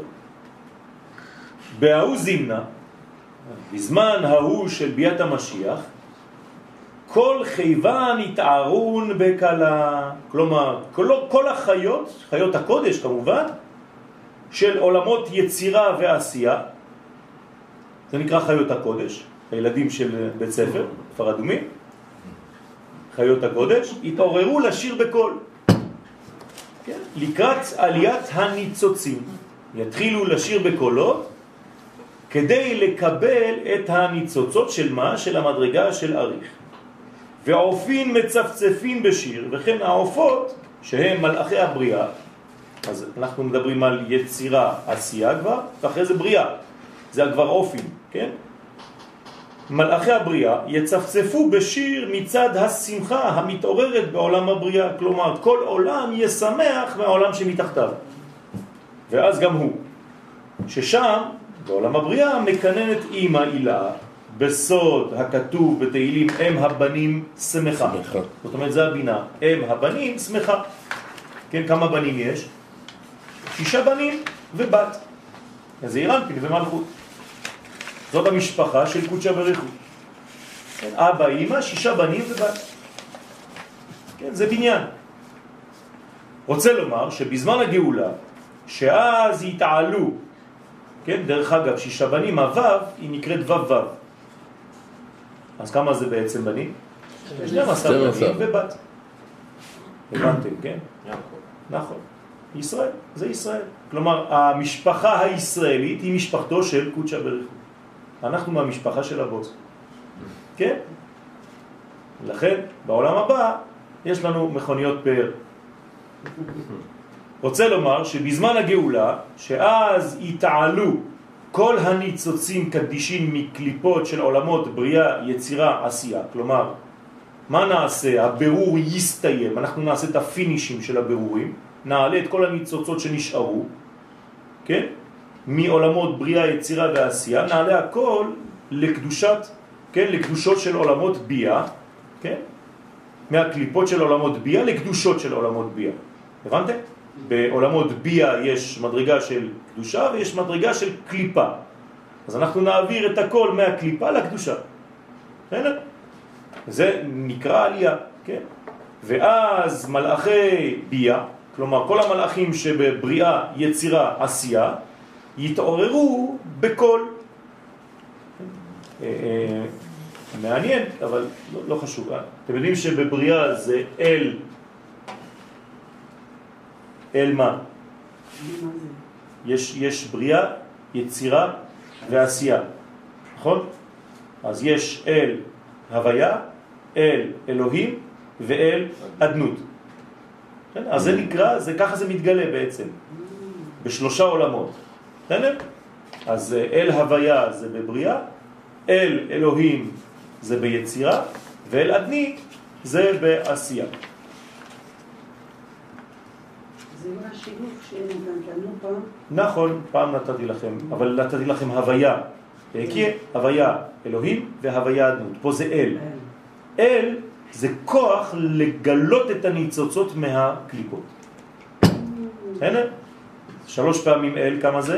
בהוא זימנה, בזמן ההוא של ביאת המשיח, כל חייבן יתערון בקלה. כלומר, כל החיות, חיות הקודש כמובן, של עולמות יצירה ועשייה, זה נקרא חיות הקודש, הילדים של בית ספר, כפר אדומים, חיות הקודש, התעוררו לשיר בקול. כן? לקראת עליית הניצוצים. יתחילו לשיר בקולות, כדי לקבל את הניצוצות של מה? של המדרגה של אריך. ועופין מצפצפין בשיר, וכן העופות, שהם מלאכי הבריאה, אז אנחנו מדברים על יצירה, עשייה כבר, ואחרי זה בריאה. זה כבר עופין, כן? מלאכי הבריאה יצפצפו בשיר מצד השמחה המתעוררת בעולם הבריאה. כלומר, כל עולם ישמח מהעולם שמתחתיו. ואז גם הוא. ששם, בעולם הבריאה, מקננת אמא אילה, בסוד הכתוב בתהילים, אם הבנים שמחה. זאת אומרת, זה הבינה. אם הבנים שמחה. כן, כמה בנים יש? 6 בנים ובת. אז זה אנפין ומלכות. זאת המשפחה של קודשא בריך הוא. כן, אבא, אמא, 6 בנים ובת. כן, זה בניין. רוצה לומר שבזמן הגאולה, שאז יתעלו, כן, דרך אגב, 6 בנים, הוו, היא נקראת וו. אז כמה זה בעצם בנים? 12 בנים ובת. הבנתם, כן? נכון. ישראל, זה ישראל. כלומר, המשפחה הישראלית היא משפחתו של קודשא בריך הוא. אנחנו מהמשפחה של הבוס. כן? לכן, בעולם הבא, יש לנו מכוניות פאר. רוצה לומר שבזמן הגאולה, שאז יתעלו כל הניצוצים קדישים מקליפות של עולמות בריאה, יצירה, עשייה. כלומר, מה נעשה? הבירור יסתיים, אנחנו נעשה את הפינישים של הבירורים, נעלה את כל הניצוצות שנשארו, כן? מעולמות בריאה, יצירה ועשייה, נעלה הכל לקדושת, כן? לקדושות של עולמות ביה, כן? מהקליפות של עולמות ביה לקדושות של עולמות ביה. הבנתם? בעולמות ביה יש מדרגה של קדושה ויש מדרגה של קליפה. אז אנחנו נעביר את הכל מהקליפה לקדושה. בסדר? זה נקרא עלייה, כן? ואז מלאכי ביה, כלומר כל המלאכים שבבריאה, יצירה, עשייה, יתעוררו בכל. מעניין, אבל לא חשוב. אתם יודעים שבבריאה זה אל מה? יש בריאה, יצירה ועשייה, נכון? אז יש אל הוויה, אל אלוהים ואל אדנות. אז זה נקרא, ככה זה מתגלה בעצם, בשלושה עולמות. אז אל הוויה זה בבריאה, אל אלוהים זה ביצירה, ואל אדני זה בעשייה. זה מה השילוב שנתנו פעם? נכון, פעם נתתי לכם, אבל נתתי לכם הוויה. כי הוויה אלוהים והוויה אדנות. פה זה אל. אל זה כוח לגלות את הניצוצות מהקליפות. הנה, 3 פעמים אל, כמה זה?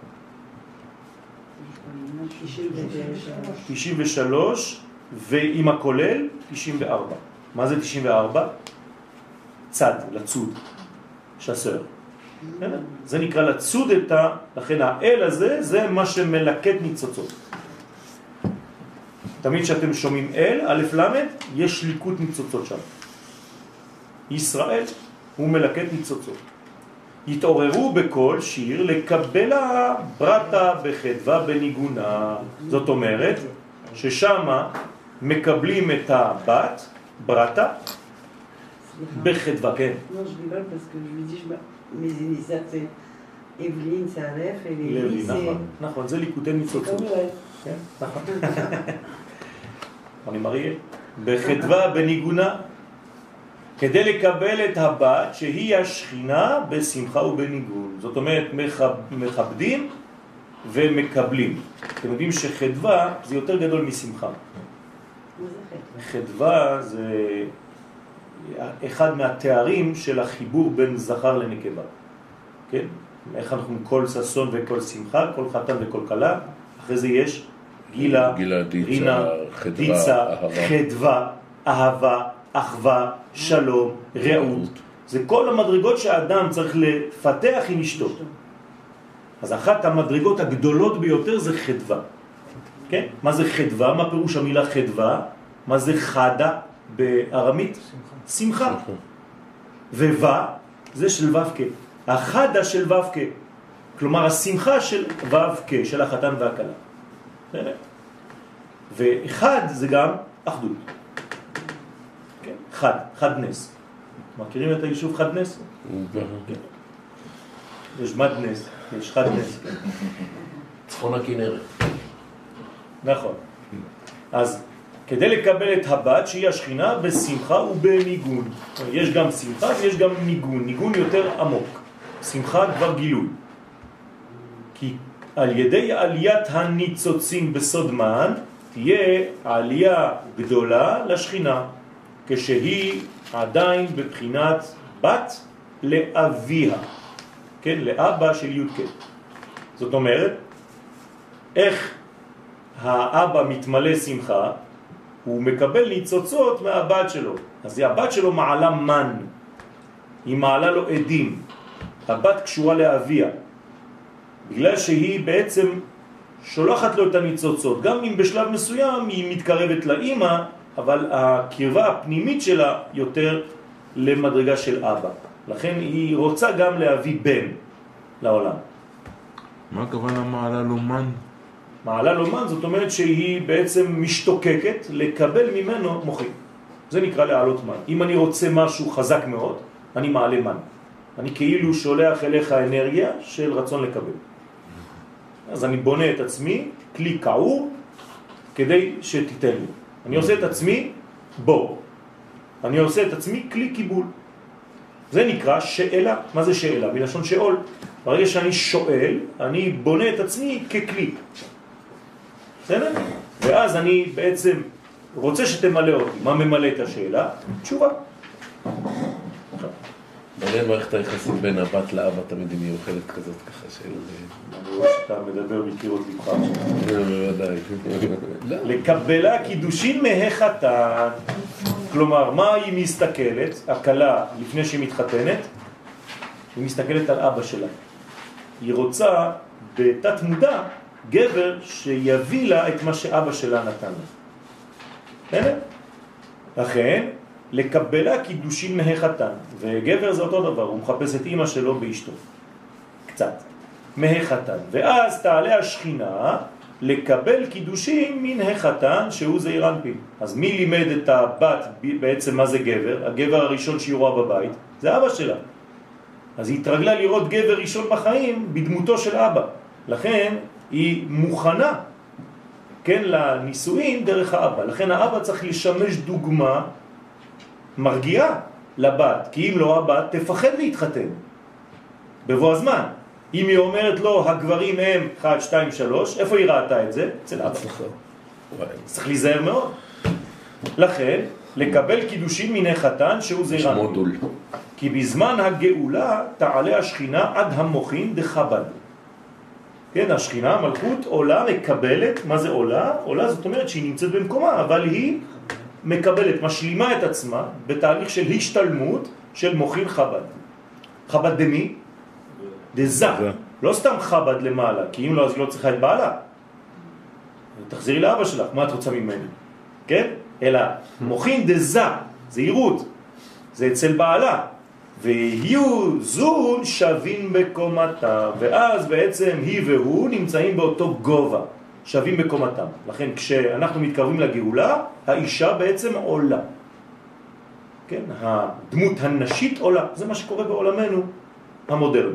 93, ועם הכולל 94. מה זה 94? צד, לצוד, שסר. זה נקרא לצוד את לכן האל הזה זה מה שמלקט ניצוצות. תמיד שאתם שומעים אל, א' למד, יש ליקוט ניצוצות שם. ישראל הוא מלקט ניצוצות. יתעוררו בכל שיר לקבל ברטה בחדווה בניגונה. זאת אומרת ששם מקבלים את הבת, ברטה, בחדווה, כן. Non, je rigole parce que je lui dis, mes initiates, c'est Evelyne, c'est Aleph, et Lévi, c'est... נכון, זה ליקוטי ניצוצות. כן, נכון. אני מראה, בחדווה בניגונה, כדי לקבל את הבת שהיא השכינה בשמחה ובניגון. זאת אומרת, מכבדים ומקבלים. אתם יודעים שחדווה זה יותר גדול משמחה. חדווה זה אחד מהתארים של החיבור בין זכר לנקבה. כן? איך אנחנו כל ששון וכל שמחה, כל חתן וכל כלה, אחרי זה יש גילה, רינה, דיצה, חדווה, אהבה, אחווה, שלום, רעות. זה כל המדרגות שהאדם צריך לפתח עם אשתו. אז אחת המדרגות הגדולות ביותר זה חדווה. כן? מה זה חדווה? מה פירוש המילה חדווה? מה זה חדה בארמית? שמחה. וווה זה של ו"ק. החדה של ו"ק. כלומר השמחה של ו"ק, של החתן והכלה. ואחד זה גם אחדות. כן? חד נס. מכירים את היישוב חד נס? כן. יש מד נס, יש חד נס. צפון הכנרת. נכון. אז כדי לקבל את הבת שהיא השכינה בשמחה ובניגון. יש גם שמחה ויש גם ניגון. ניגון יותר עמוק. שמחה כבר גילוי. כי על ידי עליית הניצוצים בסוד מן תהיה עלייה גדולה לשכינה, כשהיא עדיין בבחינת בת לאביה, כן, לאבא של י' כ'. זאת אומרת, איך האבא מתמלא שמחה, הוא מקבל ניצוצות מהבת שלו. אז הבת שלו מעלה מן, היא מעלה לו עדים. הבת קשורה לאביה, בגלל שהיא בעצם שולחת לו את הניצוצות. גם אם בשלב מסוים היא מתקרבת לאמא, אבל הקרבה הפנימית שלה יותר למדרגה של אבא. לכן היא רוצה גם להביא בן לעולם. מה הכוונה מעלה לומן? מעלה לומן זאת אומרת שהיא בעצם משתוקקת לקבל ממנו מוחין. זה נקרא להעלות מן. אם אני רוצה משהו חזק מאוד, אני מעלה מן. אני כאילו שולח אליך אנרגיה של רצון לקבל. אז אני בונה את עצמי, כלי קעור, כדי שתיתן לי. אני עושה את עצמי בור. אני עושה את עצמי כלי קיבול. זה נקרא שאלה. מה זה שאלה? מלשון שאול. ברגע שאני שואל, אני בונה את עצמי ככלי. בסדר? ואז אני בעצם רוצה שתמלא אותי. מה ממלא את השאלה? תשובה. מעניין מערכת היחסים בין הבת לאבא תמיד היא מיוחדת כזאת ככה של... אני רואה שאתה מדבר בקירות לבך. בוודאי. לקבלה קידושין מהחתן. כלומר, מה היא מסתכלת? הכלה לפני שהיא מתחתנת, היא מסתכלת על אבא שלה. היא רוצה בתת מודע גבר שיביא לה את מה שאבא שלה נתן לה. בסדר? לכן, לקבלה קידושין מהחתן. וגבר זה אותו דבר, הוא מחפש את אמא שלו באשתו. קצת. מהחתן. ואז תעלה השכינה לקבל קידושין מן החתן שהוא זעיר אנפין. אז מי לימד את הבת בעצם מה זה גבר? הגבר הראשון שהיא רואה בבית זה אבא שלה. אז היא התרגלה לראות גבר ראשון בחיים בדמותו של אבא. לכן היא מוכנה, כן, לנישואין דרך האבא. לכן האבא צריך לשמש דוגמה מרגיעה לבת, כי אם לא הבת תפחד להתחתן בבוא הזמן. אם היא אומרת לו הגברים הם 1, 2, 3, איפה היא ראתה את זה? אצל אבא. צריך להיזהר מאוד. לכן לקבל קידושין מן החתן שהוא זעיר אנפין. כי בזמן הגאולה תעלה השכינה עד המוחין דחב"ד. כן, השכינה, המלכות, עולה, מקבלת. מה זה עולה? עולה זאת אומרת שהיא נמצאת במקומה, אבל היא מקבלת, משלימה את עצמה בתהליך של השתלמות של מוחין חב"ד. חב"ד דמי? דזה. לא סתם חב"ד למעלה, כי אם לא אז היא לא צריכה את בעלה. תחזירי לאבא שלך, מה את רוצה ממני? כן? אלא מוחין דזה, זהירות. זה אצל בעלה. ויהיו זון שווים בקומתם. ואז בעצם היא והוא נמצאים באותו גובה. שווים בקומתם. לכן כשאנחנו מתקרבים לגאולה, האישה בעצם עולה. כן? הדמות הנשית עולה. זה מה שקורה בעולמנו המודרני.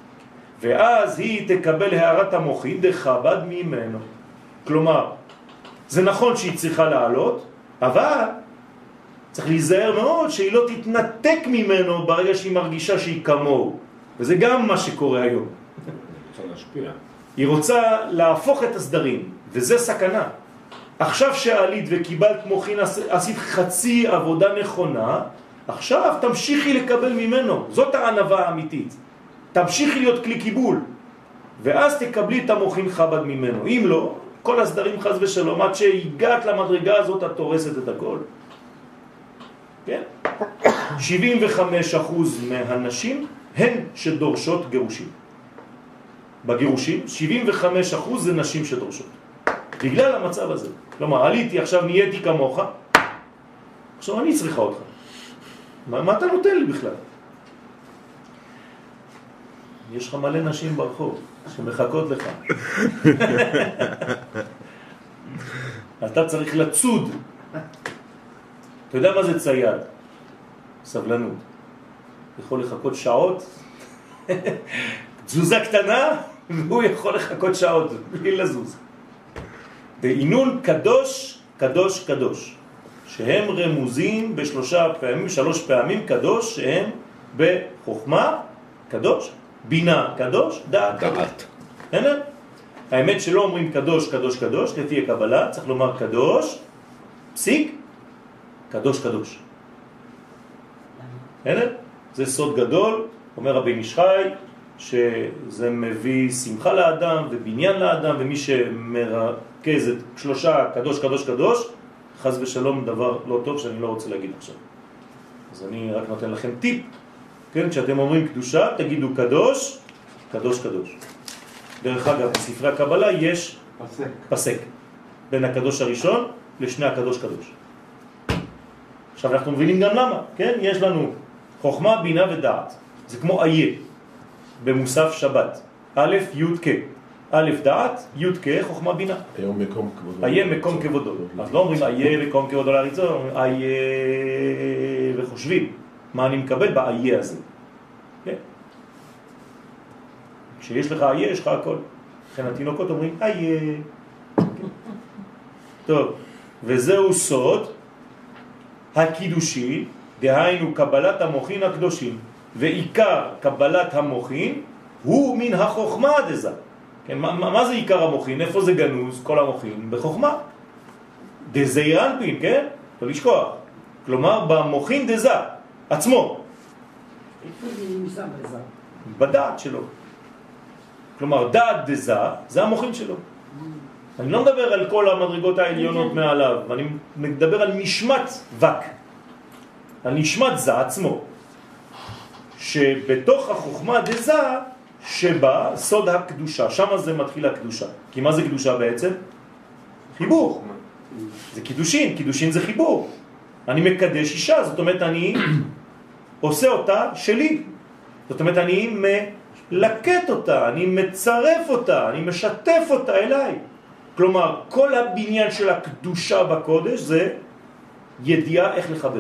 ואז היא תקבל הערת המוחין דחב"ד ממנו. כלומר, זה נכון שהיא צריכה לעלות, אבל צריך להיזהר מאוד שהיא לא תתנתק ממנו ברגע שהיא מרגישה שהיא כמוהו. וזה גם מה שקורה היום. רוצה להשפיע. היא רוצה להפוך את הסדרים, וזה סכנה. עכשיו שעלית וקיבלת מוחין, עשית חצי עבודה נכונה, עכשיו תמשיכי לקבל ממנו. זאת הענווה האמיתית. תמשיכי להיות כלי קיבול, ואז תקבלי את המוחין חב"ד ממנו. אם לא, כל הסדרים חס ושלום, עד שהגעת למדרגה הזאת, את תורסת את הכל. כן? 75% מהנשים הן שדורשות גירושים. בגירושים, 75% זה נשים שדורשות. בגלל המצב הזה. כלומר, עליתי, עכשיו נהייתי כמוך, עכשיו אני צריכה אותך. מה אתה נותן לי בכלל? יש לך מלא נשים ברחוב שמחכות לך. אתה צריך לצוד. אתה יודע מה זה צייד? סבלנות. יכול לחכות שעות, תזוזה קטנה, והוא יכול לחכות שעות, בלי לזוז. בעינון קדוש, קדוש, קדוש. שהם רמוזים שלוש פעמים קדוש, שהם בחוכמה, קדוש, בינה, קדוש, דעת. הנה? האמת שלא אומרים קדוש, קדוש, קדוש, לפי הקבלה, צריך לומר קדוש, פסיק, קדוש, קדוש. הנה? זה סוד גדול, אומר רבי נשחי, שזה מביא שמחה לאדם ובניין לאדם, ומי שמרכז את שלושה קדוש, קדוש, קדוש, חס ושלום דבר לא טוב שאני לא רוצה להגיד עכשיו. אז אני רק נותן לכם טיפ, כן? כשאתם אומרים קדושה, תגידו קדוש, קדוש, קדוש. דרך אגב, בספרי הקבלה יש פסק בין הקדוש הראשון לשני הקדוש קדוש. עכשיו אנחנו מבינים גם למה, כן? יש לנו חוכמה, בינה ודעת. זה כמו איה במוסף שבת. א', י' כ'. א' דעת, י' כ', חוכמה בינה. היום מקום כבודו. איה מקום כבודו. אז לא אומרים איה מקום כבודו לאריצו, אומרים איה וחושבים. מה אני מקבל באיה הזה. כן? כשיש לך איה, יש לך הכל. לכן התינוקות אומרים איה. טוב, וזהו סוד הקידושין, דהיינו קבלת המוחין הקדושים, ועיקר קבלת המוחין הוא מן החוכמה דזה. כן, מה זה עיקר המוחין? איפה זה גנוז? כל המוחין בחוכמה. דזעיר אנפין, כן? לא לשכוח. כלומר, במוחין דזה עצמו. איפה זה נמצא בזה? בדעת שלו. כלומר, דעת דזה זה המוחין שלו. אני לא מדבר על כל המדרגות העליונות מעליו, אני מדבר על נשמת וק, על נשמת זה עצמו, שבתוך החוכמה דזה שבה סוד הקדושה, שם זה מתחיל הקדושה. כי מה זה קדושה בעצם? חיבור. זה קידושין, קידושין זה חיבור. אני מקדש אישה, זאת אומרת אני עושה אותה שלי. זאת אומרת אני מלקט אותה, אני מצרף אותה, אני משתף אותה אליי. כלומר, כל הבניין של הקדושה בקודש זה ידיעה איך לחבר.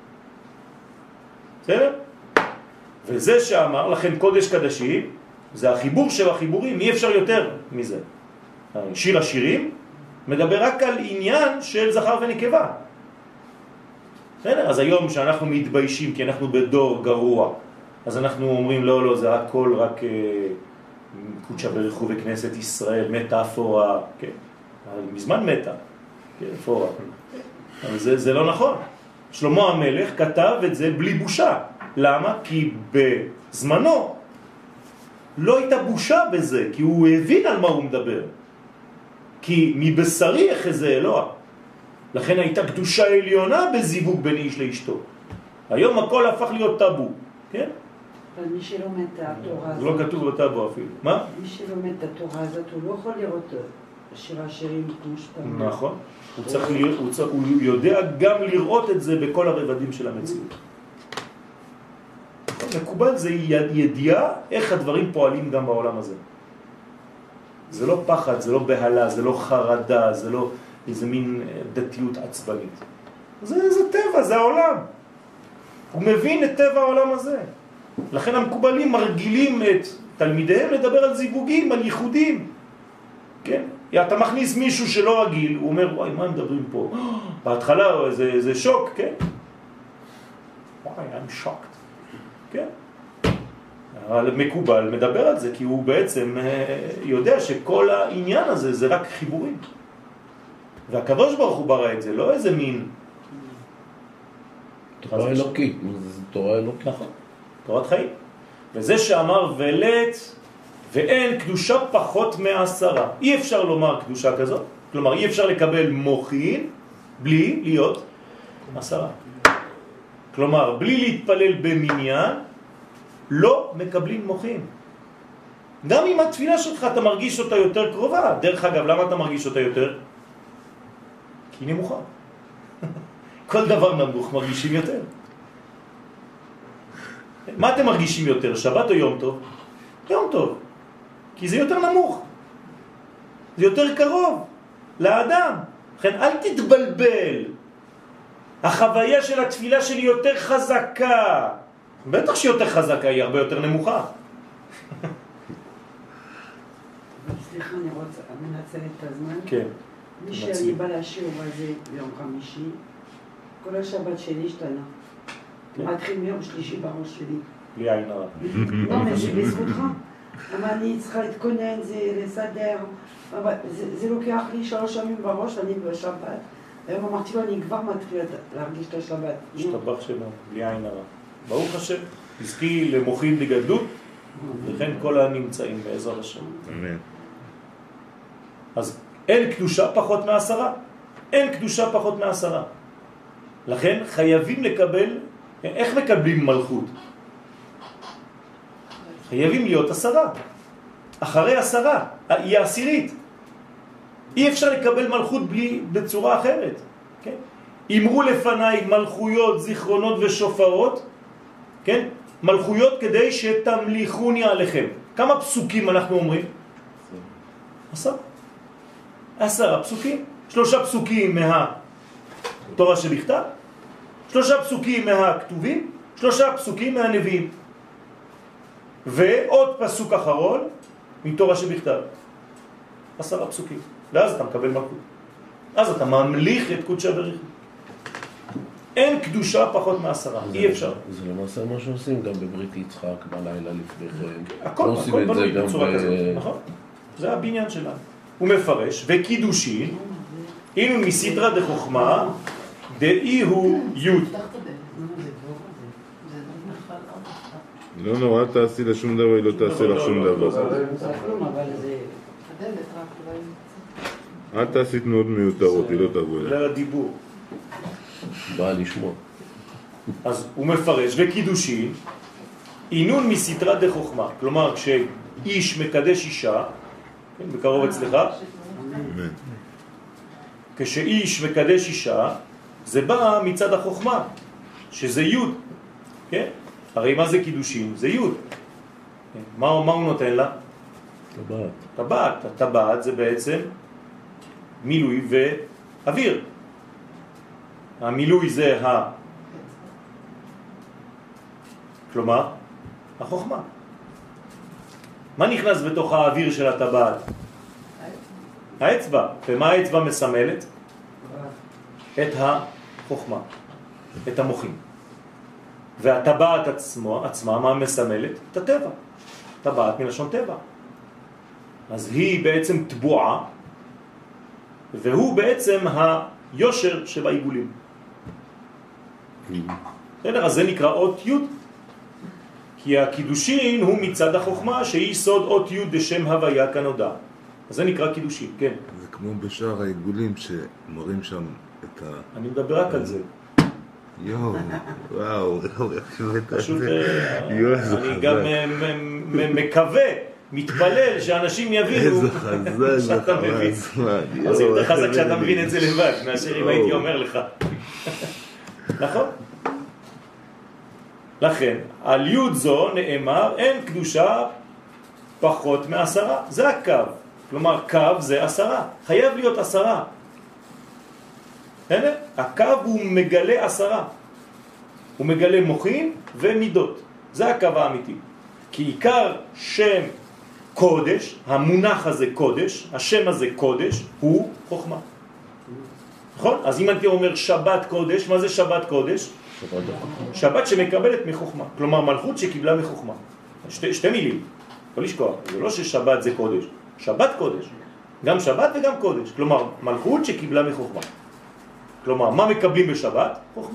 בסדר? וזה שאמר, לכן קודש קדשים, זה החיבור של החיבורים, אי אפשר יותר מזה. שיר השירים מדבר רק על עניין של זכר ונקבה. בסדר? אז היום שאנחנו מתביישים כי אנחנו בדור גרוע, אז אנחנו אומרים לא, לא, זה הכל רק קודשה ברכו בכנסת ישראל, מטאפורה, כן. מזמן מתה, כן, פורה. אבל זה לא נכון. שלמה המלך כתב את זה בלי בושה. למה? כי בזמנו לא הייתה בושה בזה, כי הוא הבין על מה הוא מדבר. כי מבשרי אחזה אלוה. לכן הייתה קדושה עליונה בזיווג בין איש לאשתו. היום הכל הפך להיות טאבו, כן? אבל מי שלומד את התורה הזאת... זה לא כתוב בטאבו אפילו. מה? מי שלומד את התורה הזאת, הוא לא יכול לראות שיר השירים כמו שאתה... נכון. הוא יודע גם לראות את זה בכל הרבדים של המציאות. מקובל זה ידיעה איך הדברים פועלים גם בעולם הזה. זה לא פחד, זה לא בהלה, זה לא חרדה, זה לא איזה מין דתיות עצבנית. זה טבע, זה העולם. הוא מבין את טבע העולם הזה. לכן המקובלים מרגילים את תלמידיהם לדבר על זיווגים, על ייחודים. כן? אתה מכניס מישהו שלא רגיל, הוא אומר, וואי, מה הם מדברים פה? בהתחלה זה שוק, כן? וואי, I'm shocked. כן? אבל מקובל מדבר על זה, כי הוא בעצם יודע שכל העניין הזה זה רק חיבורים. והקדוש ברוך הוא ברא את זה, לא איזה מין... תורה אלוקית, זה תורה אלוקית. נכון, תורת חיים. וזה שאמר ולט, ואין קדושה פחות מ10. אי אפשר לומר קדושה כזאת, כלומר אי אפשר לקבל מוחין בלי להיות 10. כלומר, בלי להתפלל במניין, לא מקבלים מוחין. גם אם התפילה שלך אתה מרגיש אותה יותר קרובה. דרך אגב, למה אתה מרגיש אותה יותר? כי היא נמוכה. כל דבר נמוך מרגישים יותר. מה אתם מרגישים יותר? שבת או יום טוב? יום טוב. כי זה יותר נמוך. זה יותר קרוב לאדם. לכן אל תתבלבל. החוויה של התפילה שלי יותר חזקה. בטח שהיא יותר חזקה, היא הרבה יותר נמוכה. סליחה, אני רוצה, מנצל את הזמן. כן. מי שאני בא לשיעור הזה ביום חמישי, כל השבת שלי השתנה. מתחיל מיום שלישי בראש שלי. בלי עין הרע. לא, אבל שבזכותך. אבל אני צריכה להתכונן, זה לסדר. זה לוקח לי 3 ימים בראש, אני בשבת. היום אמרתי לו, אני כבר מתחיל להרגיש את השבת. השתבח שלנו, בלי עין הרע. ברוך השם, תזכי למוחין בגדלות, וכן כל הנמצאים בעזרת השם. אמן. אז אין קדושה פחות מ10. אין קדושה פחות מ10. לכן חייבים לקבל, איך מקבלים מלכות? חייבים להיות 10. אחרי 10, היא 10. אי אפשר לקבל מלכות בצורה אחרת. כן? אמרו לפניי מלכויות, זיכרונות ושופרות, כן? מלכויות כדי שתמליכוני עליכם. כמה פסוקים אנחנו אומרים? 10 פסוקים. 3 פסוקים מהתורה שבכתב, 3 פסוקים מהכתובים, 3 פסוקים מהנביאים. ועוד פסוק אחרון מתורה שבכתב. 10 פסוקים. ואז אתה מקבל מלכות. אז אתה ממליך את קודשא בריך. אין קדושה פחות מ10, אי אפשר. זה למעשה מה שעושים גם בברית יצחק בלילה לפני כן. הכל בנוי בצורה כזאת, נכון? זה הבניין שלנו. הוא מפרש, וקידושין, אינו מסדרה דחוכמה, דאי הוא יוד. לא נורא, אל תעשי לה שום דבר, היא לא תעשה לך שום דבר. אל תעשי תנועות מיותרות, היא לא תבוא אליה. בגלל הדיבור. בא לשמוע. אז הוא מפרש, וקידושין, אינון מסדרה דחוכמה. כלומר, כשאיש מקדש אישה, בקרוב אצלך, כשאיש מקדש אישה, זה בא מצד החוכמה, שזה יוד. כן? הרי מה זה קידושין? זה יוד. מה הוא נותן לה? טבעת. טבעת. הטבעת זה בעצם מילוי ואוויר. המילוי זה כלומר, החוכמה. מה נכנס בתוך האוויר של הטבעת? האצבע. ומה האצבע מסמלת? את החוכמה, את המוחים. והטבעת עצמה, מה מסמלת? את הטבע. טבעת מלשון טבע. אז היא בעצם טבועה, והוא בעצם היושר שבעיגולים. אז זה נקרא אות י', כי הקידושין הוא מצד החוכמה שהיא סוד אות י' בשם הוויה כנודע. אז זה נקרא קידושין, כן. זה כמו בשאר העיגולים שמראים שם את ה... אני מדבר רק על זה. יואו, וואו, פשוט אני גם מקווה, מתפלל שאנשים יבינו שאתה מבין. אז זה יותר חזק שאתה מבין את זה לבד, מאשר אם הייתי אומר לך. נכון? לכן, על יוד זו נאמר, אין קדושה פחות מ10. זה הקו. כלומר, קו זה 10. חייב להיות 10. הנה, הקו הוא מגלה 10. הוא מגלה מוחים ומידות. זה הקו האמיתי. כי עיקר שם קודש, המונח הזה קודש, השם הזה קודש, הוא חוכמה. נכון? אז אם אני אומר שבת קודש, מה זה שבת קודש? שבת שמקבלת מחוכמה. כלומר, מלכות שקיבלה מחוכמה. שתי מילים. לא לשכוח. זה לא ששבת זה קודש. שבת קודש. גם שבת וגם קודש. כלומר, מלכות שקיבלה מחוכמה. כלומר, מה מקבלים בשבת? חוכמה.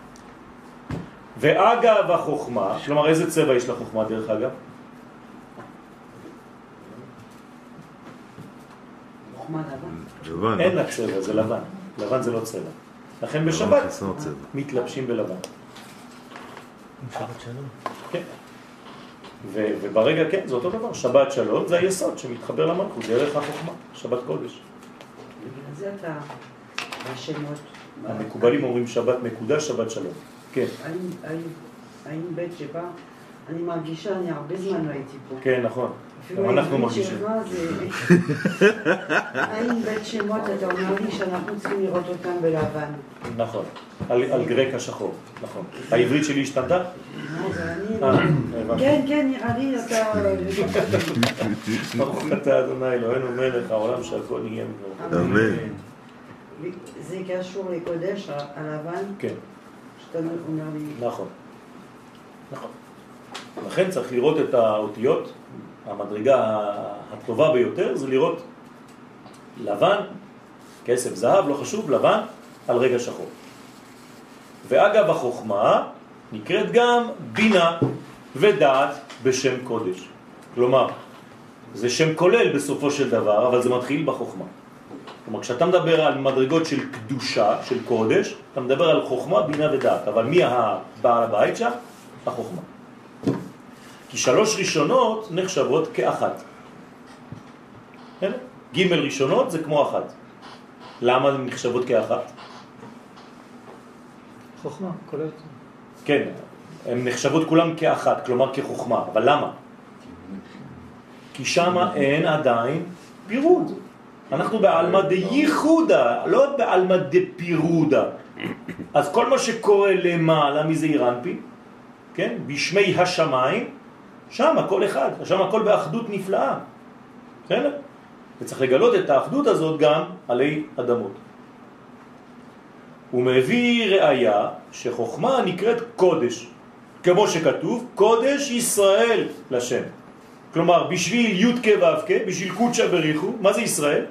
ואגב החוכמה, כלומר, איזה צבע יש לחוכמה דרך אגב? חוכמה לבן. אין לה צבע, זה לבן. לבן זה לא צבע. לכן בשבת מתלבשים בלבן. שבת שלום. כן. וברגע, כן, זה אותו דבר. שבת שלום זה היסוד שמתחבר למלכות, דרך החוכמה, שבת קודש. בגלל זה אתה בשמות. המקובלים אומרים שבת מקודש, שבת שלום. כן. האם בית שבא, אני מרגישה, אני הרבה זמן לא הייתי פה. כן, נכון. גם אנחנו מרגישים. האם בית שמות, אתה אומר לי שאנחנו צריכים לראות אותם בלבן. נכון. על גרק השחור, נכון. העברית שלי השתנתה? כן, נראה לי אתה... ברוך אתה אדוני אלוהינו מלך העולם שהכל נהיה ממנו. אמן. זה קשור לקודש, הלבן? כן. שאתה אומר לי... נכון. נכון. לכן צריך לראות את האותיות, המדרגה הטובה ביותר זה לראות לבן, כסף, זהב, לא חשוב, לבן, על רגע שחור. ואגב החוכמה נקראת גם בינה ודעת בשם קודש. כלומר, זה שם כולל בסופו של דבר, אבל זה מתחיל בחוכמה. כלומר, כשאתה מדבר על מדרגות של קדושה, של קודש, אתה מדבר על חוכמה, בינה ודעת. אבל מי הבעל הבית שם? החוכמה. כי 3 ראשונות נחשבות כאחת. ג' ראשונות זה כמו אחת. למה הן נחשבות כאחת? חוכמה, כוללת. כן, הן נחשבות כולם כאחת, כלומר כחוכמה. אבל למה? כי שם אין עדיין פירוד. אנחנו בעלמא דייחודה, לא בעלמא דפירודה. אז כל מה שקורה למעלה מזעיר אנפין, כן? בשמי השמיים, שם הכל אחד, שם הכל באחדות נפלאה. כן? וצריך לגלות את האחדות הזאת גם עלי אדמות. הוא מביא ראיה שחוכמה נקראת קודש, כמו שכתוב, קודש ישראל לשם. כלומר, בשביל י' כ' ו' כ', בשביל קודשא בריחו, מה זה ישראל?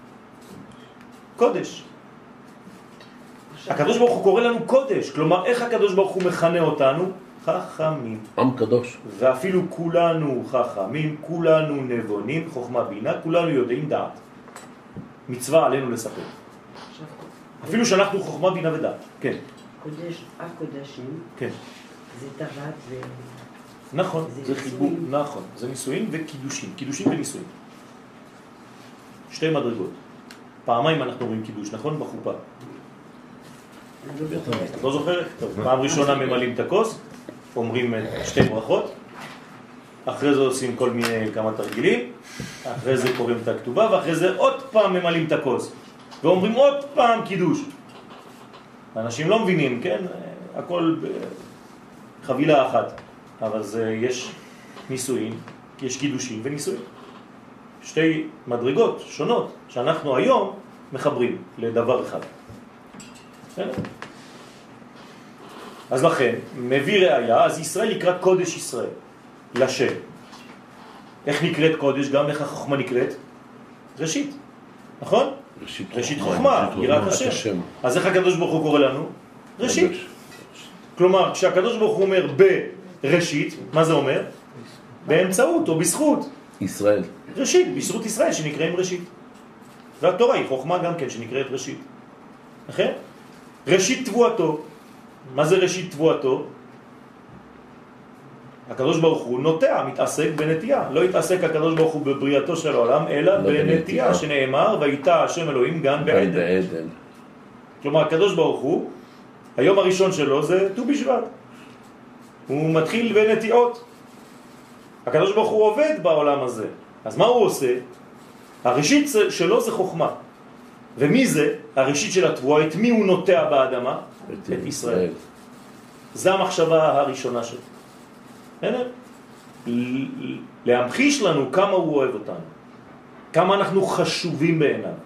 קודש. הקדוש ברוך הוא קורא לנו קודש, כלומר, איך הקדוש ברוך הוא מכנה אותנו? חכמים. עם קדוש. ואפילו כולנו חכמים, כולנו נבונים, חוכמה בינה, כולנו יודעים דעת. מצווה עלינו לספר. אפילו שאנחנו חוכמה בינה ודעת. כן. קודש, הקודשים. כן. זה טבעת ו... נכון, זה חיבור, נכון. זה נישואין וקידושים, קידושים ונישואין. שתי מדרגות. פעמיים אנחנו רואים קידוש, נכון? בחופה. את לא זוכרת? טוב, פעם ראשונה ממלאים את הכוס, אומרים שתי ברכות, אחרי זה עושים כל מיני כמה תרגילים, אחרי זה קוראים את הכתובה, ואחרי זה עוד פעם ממלאים את הכוס, ואומרים עוד פעם קידוש. אנשים לא מבינים, כן? הכל בחבילה אחת, אבל יש נישואין, יש קידושים ונישואין. שתי מדרגות שונות שאנחנו היום מחברים לדבר אחד. אז לכן, מביא ראיה, אז ישראל נקרא קודש ישראל, לשם. איך נקראת קודש? גם איך החוכמה נקראת? ראשית, נכון? ראשית חוכמה, יראת השם. אז איך הקדוש ברוך הוא קורא לנו? ראשית. כלומר, כשהקדוש ברוך הוא אומר בראשית, מה זה אומר? באמצעות או בזכות. ישראל. ראשית, בזכות ישראל שנקראים ראשית. והתורה היא חוכמה גם כן שנקראת ראשית. נכון? ראשית תבואתו. מה זה ראשית תבואתו? הקדוש ברוך הוא נוטע, מתעסק בנטייה. לא התעסק הקדוש ברוך הוא בבריאתו של העולם, אלא בנטייה, שנאמר, ויטע השם אלוהים גן בעדן. כלומר, הקדוש ברוך הוא, היום הראשון שלו זה ט"ו בשבט. הוא מתחיל בנטיעות. הקדוש ברוך הוא עובד בעולם הזה. אז מה הוא עושה? הראשית שלו זה חוכמה. ומי זה? הראשית של התבואה, את מי הוא נוטע באדמה? את ישראל. זה המחשבה הראשונה שלו. להמחיש לנו כמה הוא אוהב אותנו. כמה אנחנו חשובים בעיניו.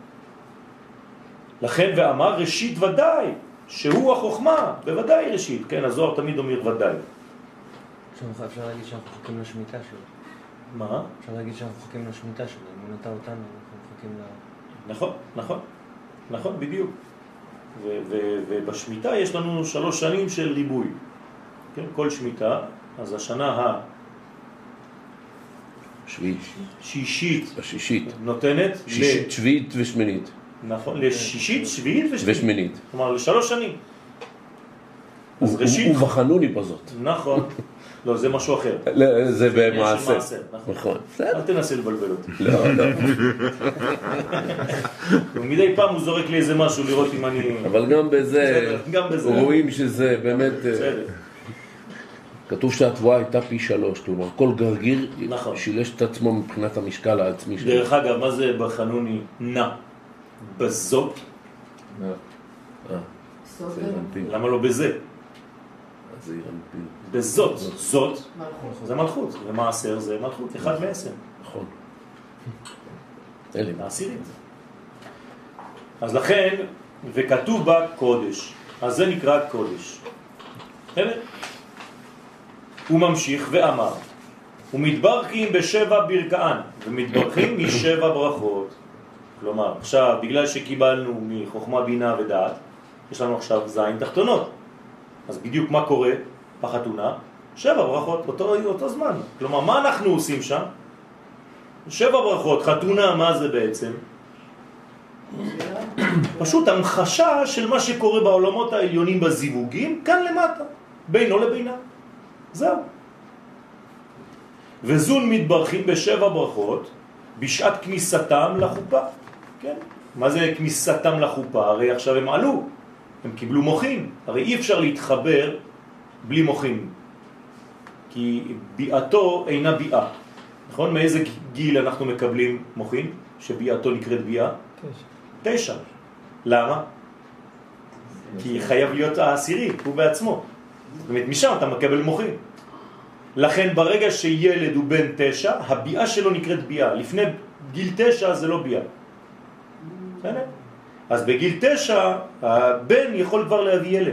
לכן ואמר ראשית ודאי, שהוא החוכמה, בוודאי ראשית. כן, הזוהר תמיד אומר ודאי. אפשר להגיד שאנחנו חוקים לשמיטה שלו. מה? אפשר להגיד שאנחנו חוקים לשמיטה שלו. אם הוא נטע אותנו, אנחנו חוקים ל... נכון, נכון. נכון, בדיוק. ובשמיטה יש לנו 3 שנים של ריבוי. כן, כל שמיטה, אז השנה שישית נותנת שישית, שביעית ושמינית. נכון, לשישית, שביעית ושמינית. כלומר, ל3 שנים. אז ראשית... ובחנוני בזאת. נכון. לא, זה משהו אחר. זה במעשה. נכון. אל תנסה לבלבל אותי. לא, לא. ומדי פעם הוא זורק לי איזה משהו לראות אם אני... אבל גם בזה רואים שזה באמת... כתוב שהתבואה הייתה פי 3, כלומר כל גרגיר שילש את עצמו מבחינת המשקל העצמי שלו. דרך אגב, מה זה בחנוני נע? בזאת? למה לא בזה? בזאת, זאת זה מלכות, ומעשר זה מלכות, 1 מ-10. נכון. מעשירית. אז לכן, וכתוב בה קודש, אז זה נקרא קודש. הוא ממשיך ואמר, ומתברכים ב7 ברכאן, ומתברכים מ7 ברכות. כלומר, עכשיו, בגלל שקיבלנו מחוכמה בינה ודעת, יש לנו עכשיו זין תחתונות. אז בדיוק מה קורה בחתונה? 7 ברכות, אותו זמן. כלומר, מה אנחנו עושים שם? 7 ברכות, חתונה, מה זה בעצם? פשוט המחשה של מה שקורה בעולמות העליונים בזיווגים, כאן למטה, בינו לבינה. זהו. וזון מתברכים ב7 ברכות, בשעת כניסתם לחופה. כן? מה זה כניסתם לחופה? הרי עכשיו הם עלו. הם קיבלו מוחין. הרי אי אפשר להתחבר בלי מוחין. כי ביאתו אינה ביאה. נכון? מאיזה גיל אנחנו מקבלים מוחין? שביאתו נקראת ביאה? 9. למה? כי חייב להיות העשירי, הוא בעצמו. זאת אומרת, משם אתה מקבל מוחין. לכן ברגע שילד הוא בן 9, הביאה שלו נקראת ביאה. לפני גיל 9 זה לא ביאה. אז בגיל 9 הבן יכול כבר להביא ילד.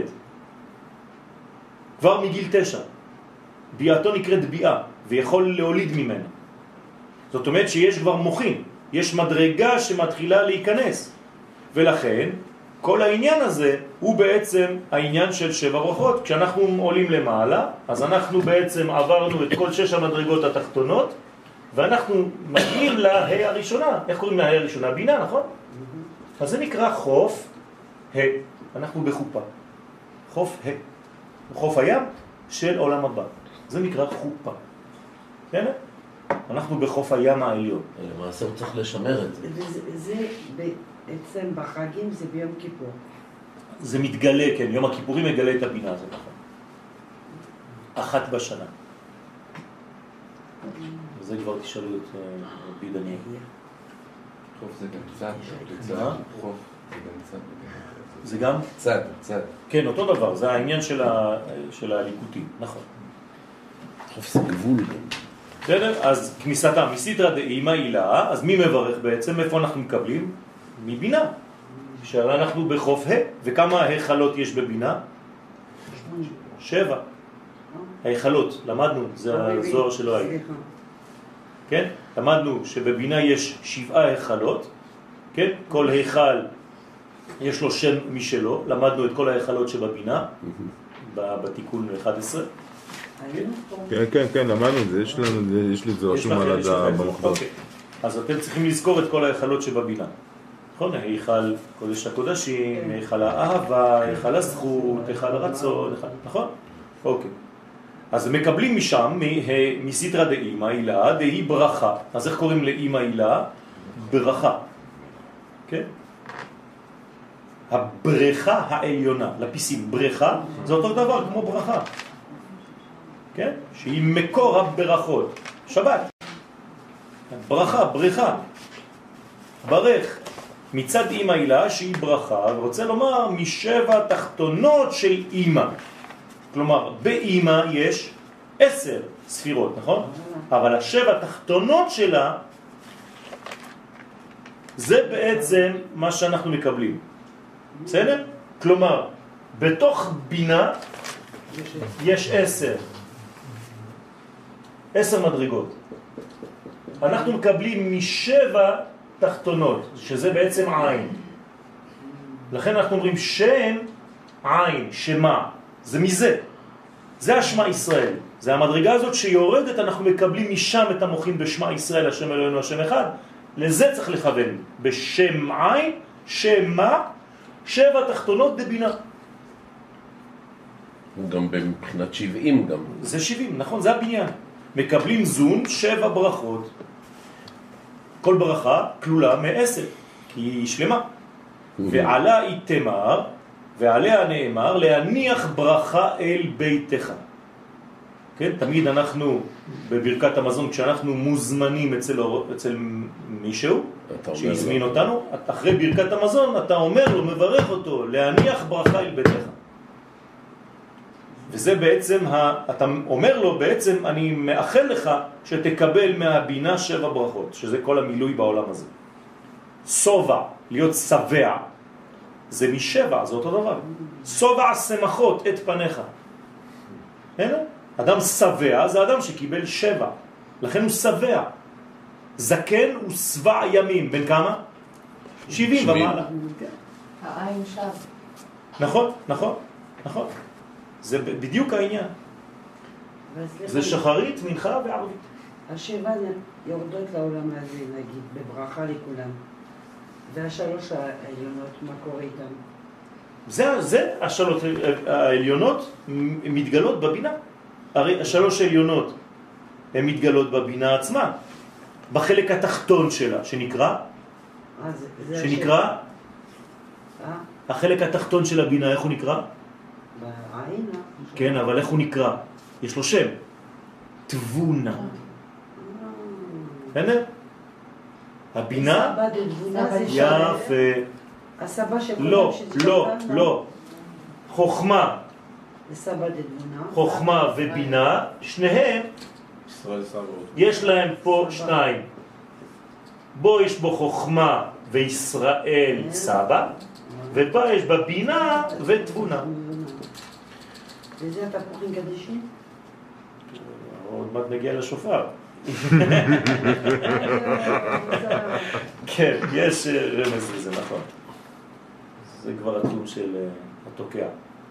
כבר מגיל 9. ביאתו נקראת ביאה, ויכול להוליד ממנה. זאת אומרת שיש כבר מוחין, יש מדרגה שמתחילה להיכנס. ולכן כל העניין הזה הוא בעצם העניין של 7 ברכות. כשאנחנו עולים למעלה, אז אנחנו בעצם עברנו את כל 6 המדרגות התחתונות, ואנחנו מגיעים להי הראשונה. איך קוראים להי הראשונה? בינה, נכון? אז זה נקרא חוף ה'. אנחנו בחופה. חוף ה'. חוף הים של עולם הבא. זה נקרא חופה. כן? אנחנו בחוף הים העליון. למעשה הוא צריך לשמר את זה. זה בעצם בחגים זה ביום כיפור. זה מתגלה, כן. יום הכיפורים מגלה את הבינה הזאת, נכון. אחת בשנה. וזה כבר תשאלו את רבי דניאל. חוף זה גם צד. חוף זה גם צד. זה גם? צד. כן, אותו דבר. זה העניין של הליקוטים, נכון. חוף זה גבול. בסדר? אז כניסתה מסיתרא דאימא הילה, אז מי מברך בעצם? איפה אנחנו מקבלים? מבינה. שאנחנו בחוף ה'. וכמה היכלות יש בבינה? 7. היכלות, למדנו, זה הזוהר שלא היה. כן? למדנו שבבינה יש 7 היכלות. כן? כל היכל יש לו שם משלו. למדנו את כל היכלות שבבינה, בתיקון 11. כן, למדנו את זה, יש לי את זה רשום על המחבר. אז אתם צריכים לזכור את כל היכלות שבבינה. נכון? היכל קודש הקודשים, היכל האהבה, היכל הזכות, היכל הרצון, נכון? אוקיי. אז מקבלים משם, מסיתרא דאימא הילה, דהי ברכה. אז איך קוראים לאימא הילה? ברכה. כן? הברכה העליונה, לפיסים, ברכה, זה אותו דבר כמו ברכה. כן? שהיא מקור הברכות. שבת. ברכה, ברכה. ברך. מצד אימא הילה שהיא ברכה, ורוצה לומר מ7 תחתונות של אימא. כלומר, באימא יש 10 ספירות, נכון? אבל 7 תחתונות שלה, זה בעצם מה שאנחנו מקבלים. בסדר? כלומר, בתוך בינה יש 10 מדרגות. אנחנו מקבלים מ7 תחתונות, שזה בעצם עין. לכן אנחנו אומרים שם עין, שמה. זה מזה. זה השמה ישראל. זה המדרגה הזאת שיורדת, אנחנו מקבלים משם את המוחים בשמה ישראל, השם אלוהינו, השם אחד. לזה צריך לכוון. בשם עין, שמה, 7 תחתונות דבינה. גם מבחינת 70 גם. זה 70, נכון, זה הבניין. מקבלים זון 7 ברכות. כל ברכה כלולה מ10, כי היא שלמה. ועלה היא תמר, ועליה נאמר, להניח ברכה אל ביתך. כן? תמיד אנחנו, בברכת המזון, כשאנחנו מוזמנים אצל מישהו, שיזמין אותנו, אחרי ברכת המזון, אתה אומר לו, מברך אותו, להניח ברכה אל ביתך. וזה בעצם, אתה אומר לו בעצם, אני מאחל לך שתקבל מהבינה 7 ברכות, שזה כל המילוי בעולם הזה. סובע, להיות שבע, זה מ7, זה אותו דבר. סובע שמחות את פניך. הנה? אדם שבע זה אדם שקיבל 7, לכן הוא שבע. זקן הוא שבע ימים, בין כמה? 70 ומעלה. העין שב. נכון, נכון, נכון. זה בדיוק העניין. זה שחרית, מנחה וערבית. 7 יורדות לעולם הזה, נגיד, בברכה לכולם. וה3 העליונות, מה קורה איתם? זה 3 העליונות מתגלות בבינה. הרי 3 העליונות הן מתגלות בבינה עצמה, בחלק התחתון שלה, שנקרא החלק התחתון של הבינה, איך הוא נקרא? בעין. כן, אבל איך הוא נקרא? יש לו שם. תבונה. בסדר? הבינה? יפה. הסבא של לא, לא, לא. חוכמה. חוכמה ובינה, שניהם יש להם פה שניים. בו יש בו חוכמה וישראל סבא, ובה יש בה בינה ותבונה. וזה אתה פוחים קדישים? עוד מעט נגיע לשופר. כן, יש רמז לזה, נכון. זה כבר התחום של התוקע.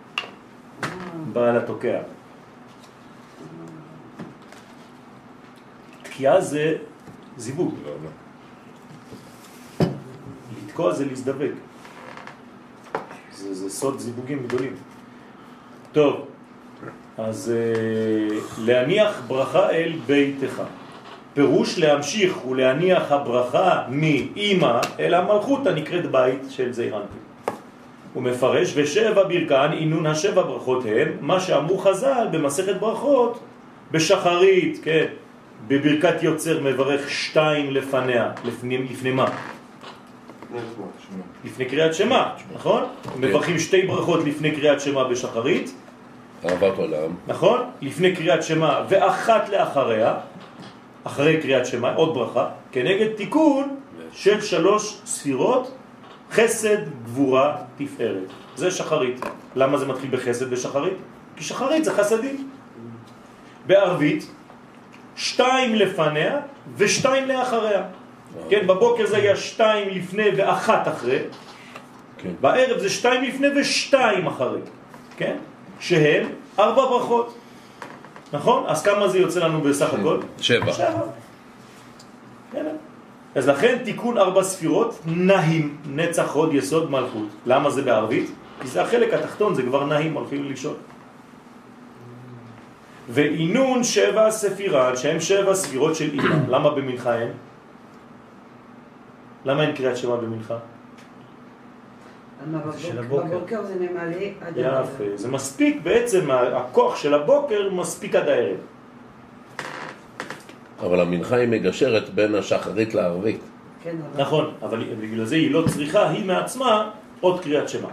בעל התוקע. תקיעה זה זיווג. לתקוע זה להזדבק. זה סוד זיווגים גדולים. טוב, אז להניח ברכה אל ביתך. פירוש להמשיך ולהניח הברכה מאמא אל המלכות הנקראת בית של זעירנטי. הוא מפרש, ושבע ברכן עינון השבע ברכות הם מה שאמרו חז"ל במסכת ברכות בשחרית, כן, בברכת יוצר מברך שתיים לפניה, לפני מה? לפני קריאת שמה, נכון? מברכים שתי ברכות לפני קריאת שמה בשחרית, אהבת עולם, נכון? לפני קריאת שמה ואחת לאחריה, אחרי קריאת שמה, עוד ברכה, כנגד תיקון של 3 ספירות, חסד, גבורה, תפארת. זה שחרית. למה זה מתחיל בחסד בשחרית? כי שחרית זה חסדים. בערבית, 2 לפניה ו2 לאחריה. כן, בבוקר זה היה 2 לפני ו1 אחרי. כן. בערב זה 2 לפני ו2 אחרי. כן? שהם 4 ברכות. נכון? אז כמה זה יוצא לנו בסך הכל? 7. 7. כן. אז לכן תיקון 4 ספירות, נהים, נצח הוד יסוד מלכות. למה זה בערבית? כי זה החלק התחתון, זה כבר נהים, הולכים לישון. ועינון 7 ספירן, שהם 7 ספירות של אימא. למה במנחה אין? למה אין קריאת שמה במנחה? בבוקר זה ממלא עד הערב. יפה, זה מספיק בעצם, הכוח של הבוקר מספיק עד הערב. אבל המנחה היא מגשרת בין השחרית לערבית. כן, נכון, אבל בגלל זה היא לא צריכה, היא מעצמה עוד קריאת שמה.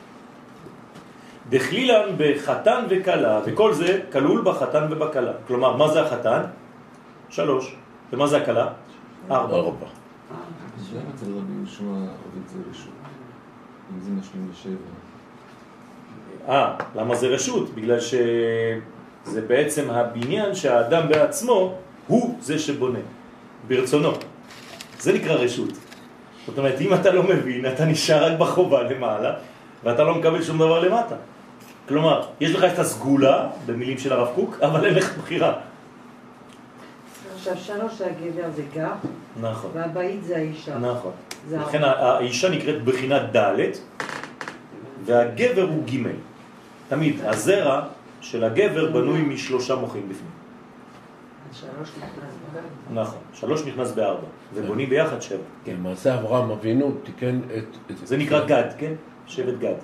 דחלילן בחתן וקלה, וכל זה כלול בחתן ובקלה. כלומר, מה זה החתן? 3. ומה זה הקלה? 4. למה אצל רבי יהושע עובד זה רשות? אם זה משלים ל7. למה זה רשות? בגלל שזה בעצם הבניין שהאדם בעצמו הוא זה שבונה, ברצונו. זה נקרא רשות. זאת אומרת, אם אתה לא מבין, אתה נשאר רק בחובה למעלה, ואתה לא מקבל שום דבר למטה. כלומר, יש לך את הסגולה, במילים של הרב קוק, אבל אין לך בחירה. עכשיו 3 הגבר זה גר, נכון. והבית זה האישה. נכון. לכן האישה נקראת בחינת ד' והגבר הוא ג'. תמיד, הזרע של הגבר בנוי מ3 מוחים בפנים. 3 נכנס ב4. נכון, 3 נכנס ב4, ובונים ביחד 7. כן. למעשה אברהם אבינו תיקן את... זה נקרא גד, כן? שבט גד.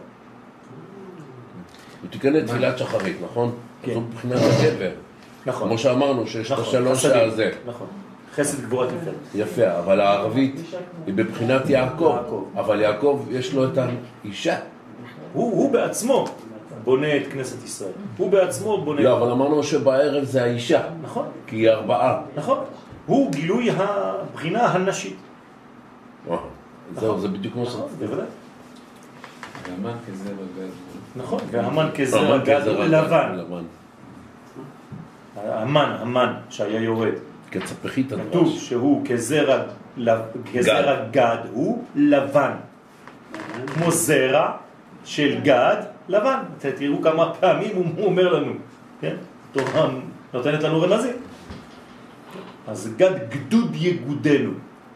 הוא תיקן את תפילת שחרית, נכון? כן. זו מבחינת הגבר. נכון. כמו שאמרנו, שיש את נכון, 3 חסדים. הזה. נכון. חסד גבורת תפארת. יפה, אבל הערבית היא בבחינת יעקב. אבל יעקב יש לו את האישה. הוא בעצמו בונה את כנסת ישראל. הוא בעצמו בונה... לא, אבל אמרנו שבערב זה האישה. נכון. כי היא 4. נכון. הוא גילוי הבחינה הנשית. זהו, זה בדיוק כמו נכון, בוודאי. והמן כזרע גד. נכון, והמן כזרע גד לבן. המן שהיה יורד. כצפחית הדבש. כתוב שהוא כזרע גד הוא לבן. כמו זרע של גד לבן. תראו כמה פעמים הוא אומר לנו. כן? תורה נותנת לנו רמזים. אז גד גדוד יגודנו.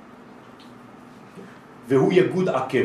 והוא יגוד עקב.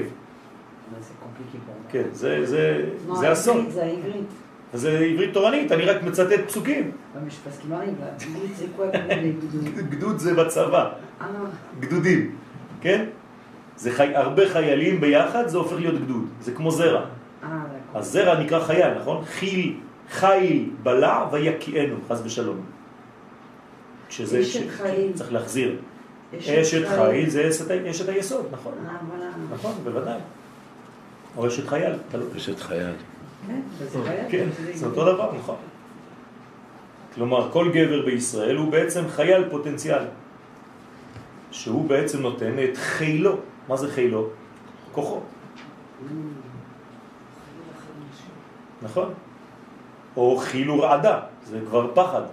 כן, זה אסון. זה העברית. זה עברית תורנית, אני רק מצטט פסוקים. parce qu'il m'arrive là. C'est quoi les gdouds? גדוד זה בצבא. גדודים, כן? הרבה חיילים ביחד, זה הופך להיות גדוד. זה כמו זרע. אז זרע נקרא חייל, נכון? חיל בלע ויקיענו, חס ושלום. שזה צריך להחזיר. אשת חיל זה אשת היסוד, נכון? נכון, בוודאי. או אשת חייל. אשת חייל. כן, זה אותו דבר, נכון. כלומר, כל גבר בישראל הוא בעצם חייל פוטנציאל, שהוא בעצם נותן את חילו. מה זה חילו? כוחו. נכון? או חילו רעדה, זה כבר פחד.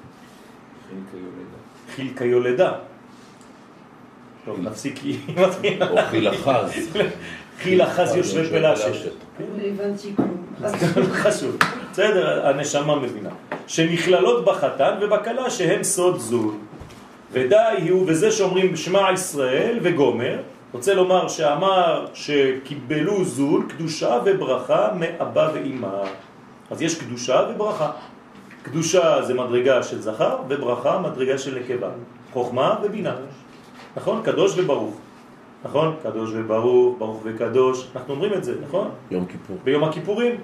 חיל כיולדה. טוב, נפסיק כי... או חיל החז. חיל החז יושבי פלשת. לא הבנתי כלום. חשוב. בסדר, הנשמה מבינה. שנכללות בחתן ובקלה שהם סוד זול. ודי הוא בזה שאומרים שמע ישראל וגומר. רוצה לומר שאמר שקיבלו זול, קדושה וברכה מאבא ואמא. אז יש קדושה וברכה. קדושה זה מדרגה של זכר, וברכה מדרגה של נקבה. חוכמה ובינה. נכון? קדוש וברוך. נכון? קדוש וברוך, ברוך וקדוש. אנחנו אומרים את זה, נכון? יום כיפור. ביום הכיפורים.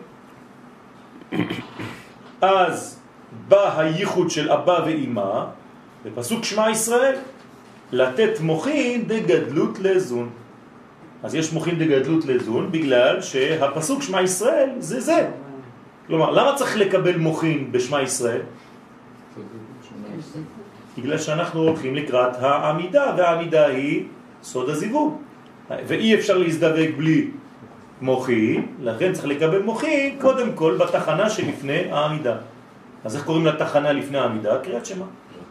אז בא הייחוד של אבא ואמא, בפסוק שמע ישראל, לתת מוחין דגדלות לזון. אז יש מוחין דגדלות לזון, בגלל שהפסוק שמע ישראל זה זה. כלומר, למה צריך לקבל מוחין בשמע ישראל? בגלל שאנחנו הולכים לקראת העמידה, והעמידה היא סוד הזיווג. ואי אפשר להזדווג בלי מוחין, לכן צריך לקבל מוחין קודם כל בתחנה שלפני העמידה. אז איך קוראים לתחנה לפני העמידה? קריאת שמע.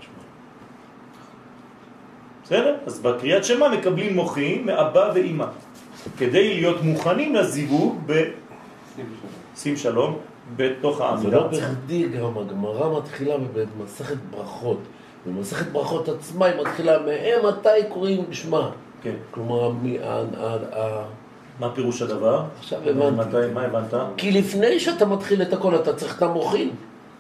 בסדר? אז בקריאת שמע מקבלים מוחין מאבא ואמא, כדי להיות מוכנים לזיווג שים שלום בתוך העמידה. זה לא בכדי גם הגמרא מתחילה במסכת ברכות. במסכת ברכות עצמה היא מתחילה מתי קוראים בשמה. כן. כלומר, מה פירוש הדבר? עכשיו הבנתי. מה הבנת? כי לפני שאתה מתחיל את הכל אתה צריך את המוחין.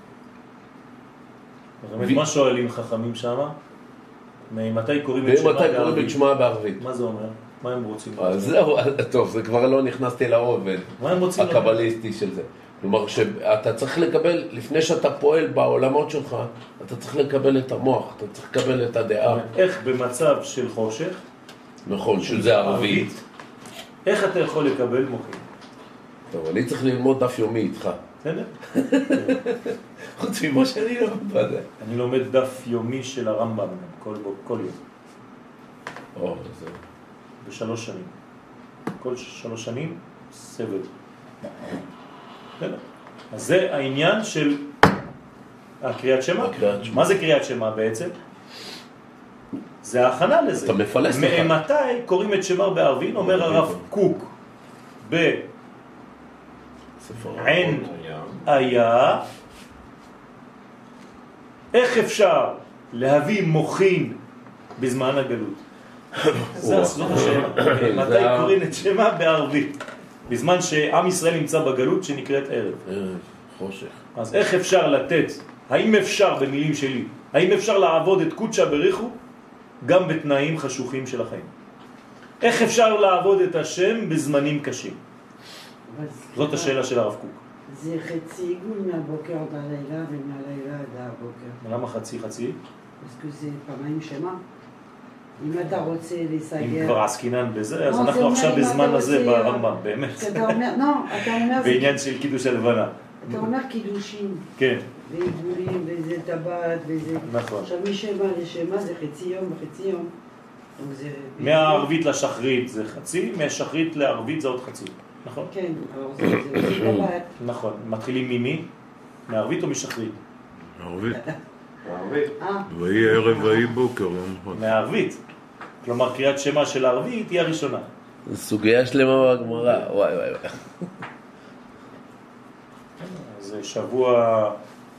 מה שואלים חכמים שם? מתי קוראים את שמה בערבית? מה זה אומר? מה הם רוצים? זהו, טוב, זה כבר לא נכנסתי לעובד הקבליסטי של זה. כלומר, שאתה צריך לקבל, לפני שאתה פועל בעולמות שלך, אתה צריך לקבל את המוח, אתה צריך לקבל את הדעה. איך במצב של חושך, נכון, שזה ערבית, איך אתה יכול לקבל מוחין? טוב, אני צריך ללמוד דף יומי איתך. בסדר? חוץ ממה שאני לומד בזה. אני לומד דף יומי של הרמב"ם כל יום. זה... ב3 שנים. כל 3 שנים סבל. אז זה העניין של הקריאת שמע. מה זה קריאת שמע בעצם? זה ההכנה לזה. אתה מפלס לך. מתי קוראים את שמר בערבין? אומר הרב קוק בעין היה. איך אפשר להביא מוחין בזמן הגלות? זה הסוד השאלה. מתי קוראים את שמע בערבית? בזמן שעם ישראל נמצא בגלות שנקראת ערב. חושך. אז איך אפשר לתת, האם אפשר במילים שלי, האם אפשר לעבוד את קודשא בריחו גם בתנאים חשוכים של החיים? איך אפשר לעבוד את השם בזמנים קשים? זאת השאלה של הרב קוק. זה חצי עיגול מהבוקר עד הלילה ומהלילה עד הבוקר. למה חצי? זה פעמיים שמה. אם אתה רוצה להיסגר... אם כבר עסקינן בזה, אז אנחנו עכשיו בזמן הזה ברמב"ם, באמת. אתה אומר... בעניין של קידוש הלבנה. אתה אומר קידושים. כן. ועיגולים, וזה טבעת, וזה... נכון. עכשיו משמה לשמה זה חצי יום וחצי יום. מהערבית לשחרית זה חצי, מהשחרית לערבית זה עוד חצי. נכון? כן, אבל זה טבעת. נכון. מתחילים ממי? מערבית או משחרית? מערבית. מערבית. ויהי ערב ויהי בוקר. מערבית. כלומר, קריאת שמע של הערבית היא הראשונה. זו סוגיה שלמה בגמרא. וואי. זה שבוע,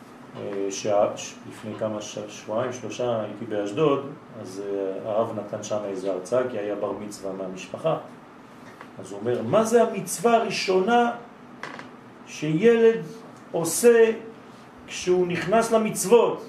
לפני כמה שבועיים, 3, הייתי באשדוד, אז הרב נתן שם איזו הרצאה, כי היה בר מצווה מהמשפחה. אז הוא אומר, מה זה המצווה הראשונה שילד עושה כשהוא נכנס למצוות?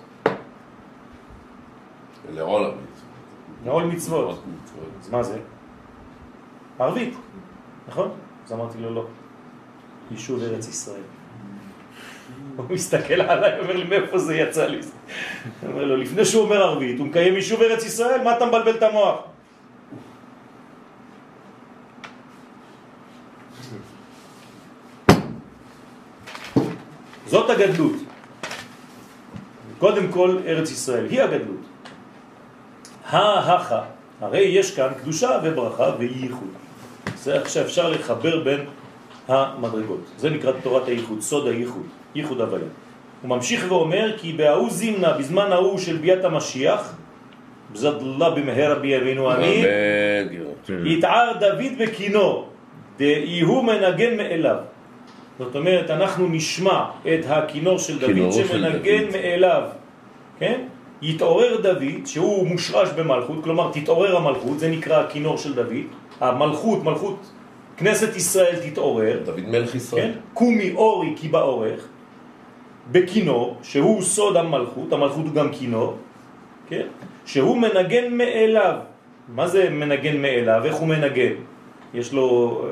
לעול המצוות. לעול מצוות. אז מה זה? ערבית, נכון? אז אמרתי לו לא, יישוב ארץ ישראל. הוא מסתכל עליי, אומר לי מאיפה זה יצא לי. הוא אומר לו, לפני שהוא אומר ערבית, הוא מקיים יישוב ארץ ישראל, מה אתה מבלבל את המוח? זאת הגדלות. קודם כל ארץ ישראל היא הגדלות. הרי יש כאן קדושה וברכה וייחוד. זה עכשיו אפשר לחבר בין המדרגות. זה נקרא תורת הייחוד, סוד הייחוד, ייחוד הוויה. הוא ממשיך ואומר כי בהוא זימנה, בזמן ההוא של ביאת המשיח, בזד אללה במהרה בימינו אמן, יתער דוד בקינו, דהיהו מנגן מאליו. זאת אומרת, אנחנו נשמע את הכינור של דוד שמנגן מאליו, כן? יתעורר דוד, שהוא מושרש במלכות, כלומר תתעורר המלכות, זה נקרא הכינור של דוד, המלכות, מלכות כנסת ישראל תתעורר, דוד מלך ישראל, כן? קומי אורי כי באורך, בכינור, שהוא סוד המלכות, המלכות הוא גם כינור, כן? שהוא מנגן מאליו. מה זה מנגן מאליו? איך הוא מנגן? יש לו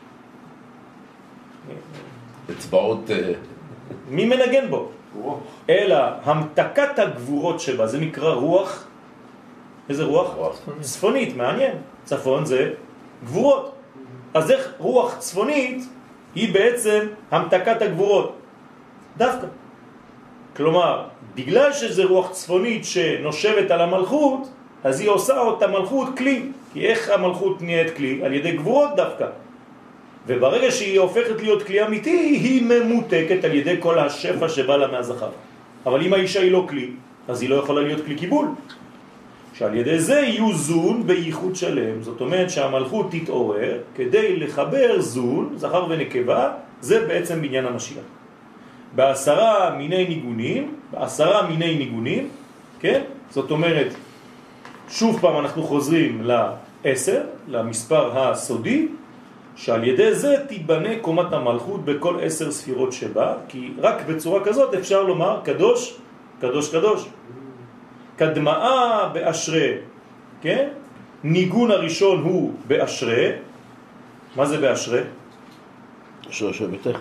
אצבעות. מי מנגן בו? אלא המתקת הגבורות שבה, זה נקרא רוח. איזה רוח? צפונית, מעניין. צפון זה גבורות. אז איך רוח צפונית היא בעצם המתקת הגבורות? דווקא. כלומר, בגלל שזה רוח צפונית שנושבת על המלכות, אז היא עושה אותה מלכות כלי. כי איך המלכות נהיית כלי? על ידי גבורות דווקא. וברגע שהיא הופכת להיות כלי אמיתי, היא ממותקת על ידי כל השפע שבא לה מהזכר. אבל אם האישה היא לא כלי, אז היא לא יכולה להיות כלי קיבול. שעל ידי זה יהיו זון בייחוד שלם. זאת אומרת שהמלכות תתעורר כדי לחבר זון, זכר ונקבה, זה בעצם בניין המשיח. בעשרה מיני ניגונים, כן? זאת אומרת, שוב פעם אנחנו חוזרים ל10, למספר הסודי, שעל ידי זה תיבנה קומת המלכות בכל 10 ספירות שבה, כי רק בצורה כזאת אפשר לומר קדוש, קדוש קדוש. קדמאה באשרה, כן? ניגון הראשון הוא באשרה. מה זה באשרה? אשרה שבתך.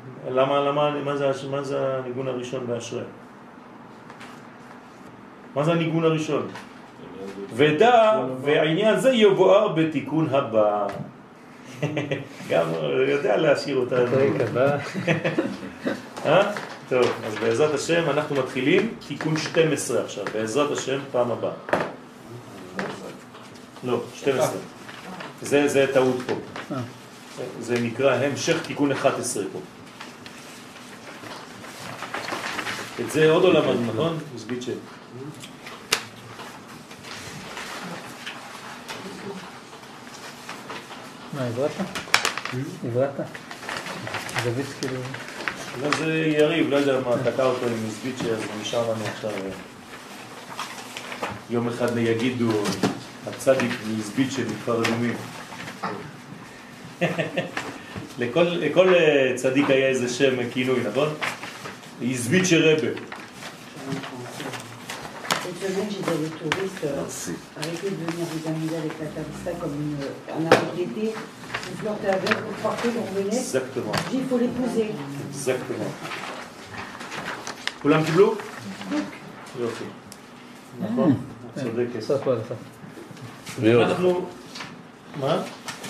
מה זה הניגון הראשון באשרה? מה זה הניגון הראשון? ודע, והעניין זה יבואר בתיקון הבא. גם יודע להשאיר אותה. טוב, אז בעזרת השם אנחנו מתחילים תיקון 12 עכשיו, בעזרת השם פעם הבאה. לא, 12. זה טעות פה. זה נקרא המשך תיקון 11 פה. את זה עוד לא למדנו, נכון? מסביצ'ה. מה, עברת? עברת? דוד כאילו... לא, זה יריב, לא יודע מה, תקע אותו עם מסביצ'ה, אז נשאר לנו עכשיו. יום אחד יגידו, הצדיק מסביצ'ה מכפר אדומים. לכל צדיק היה איזה שם כינוי, נכון? מסביצ'ה רבה. Cette semaine, j'ai des touristes arrêter de venir vous amuser avec la Tarissa comme un arbre d'été. Vous flirtez avec, vous partez, vous revenez. Exactement. Je dis, il faut l'épouser. Exactement. כולם קיבלו? יופי. נכון? צודקת. סוף כל סוף. אנחנו... מה?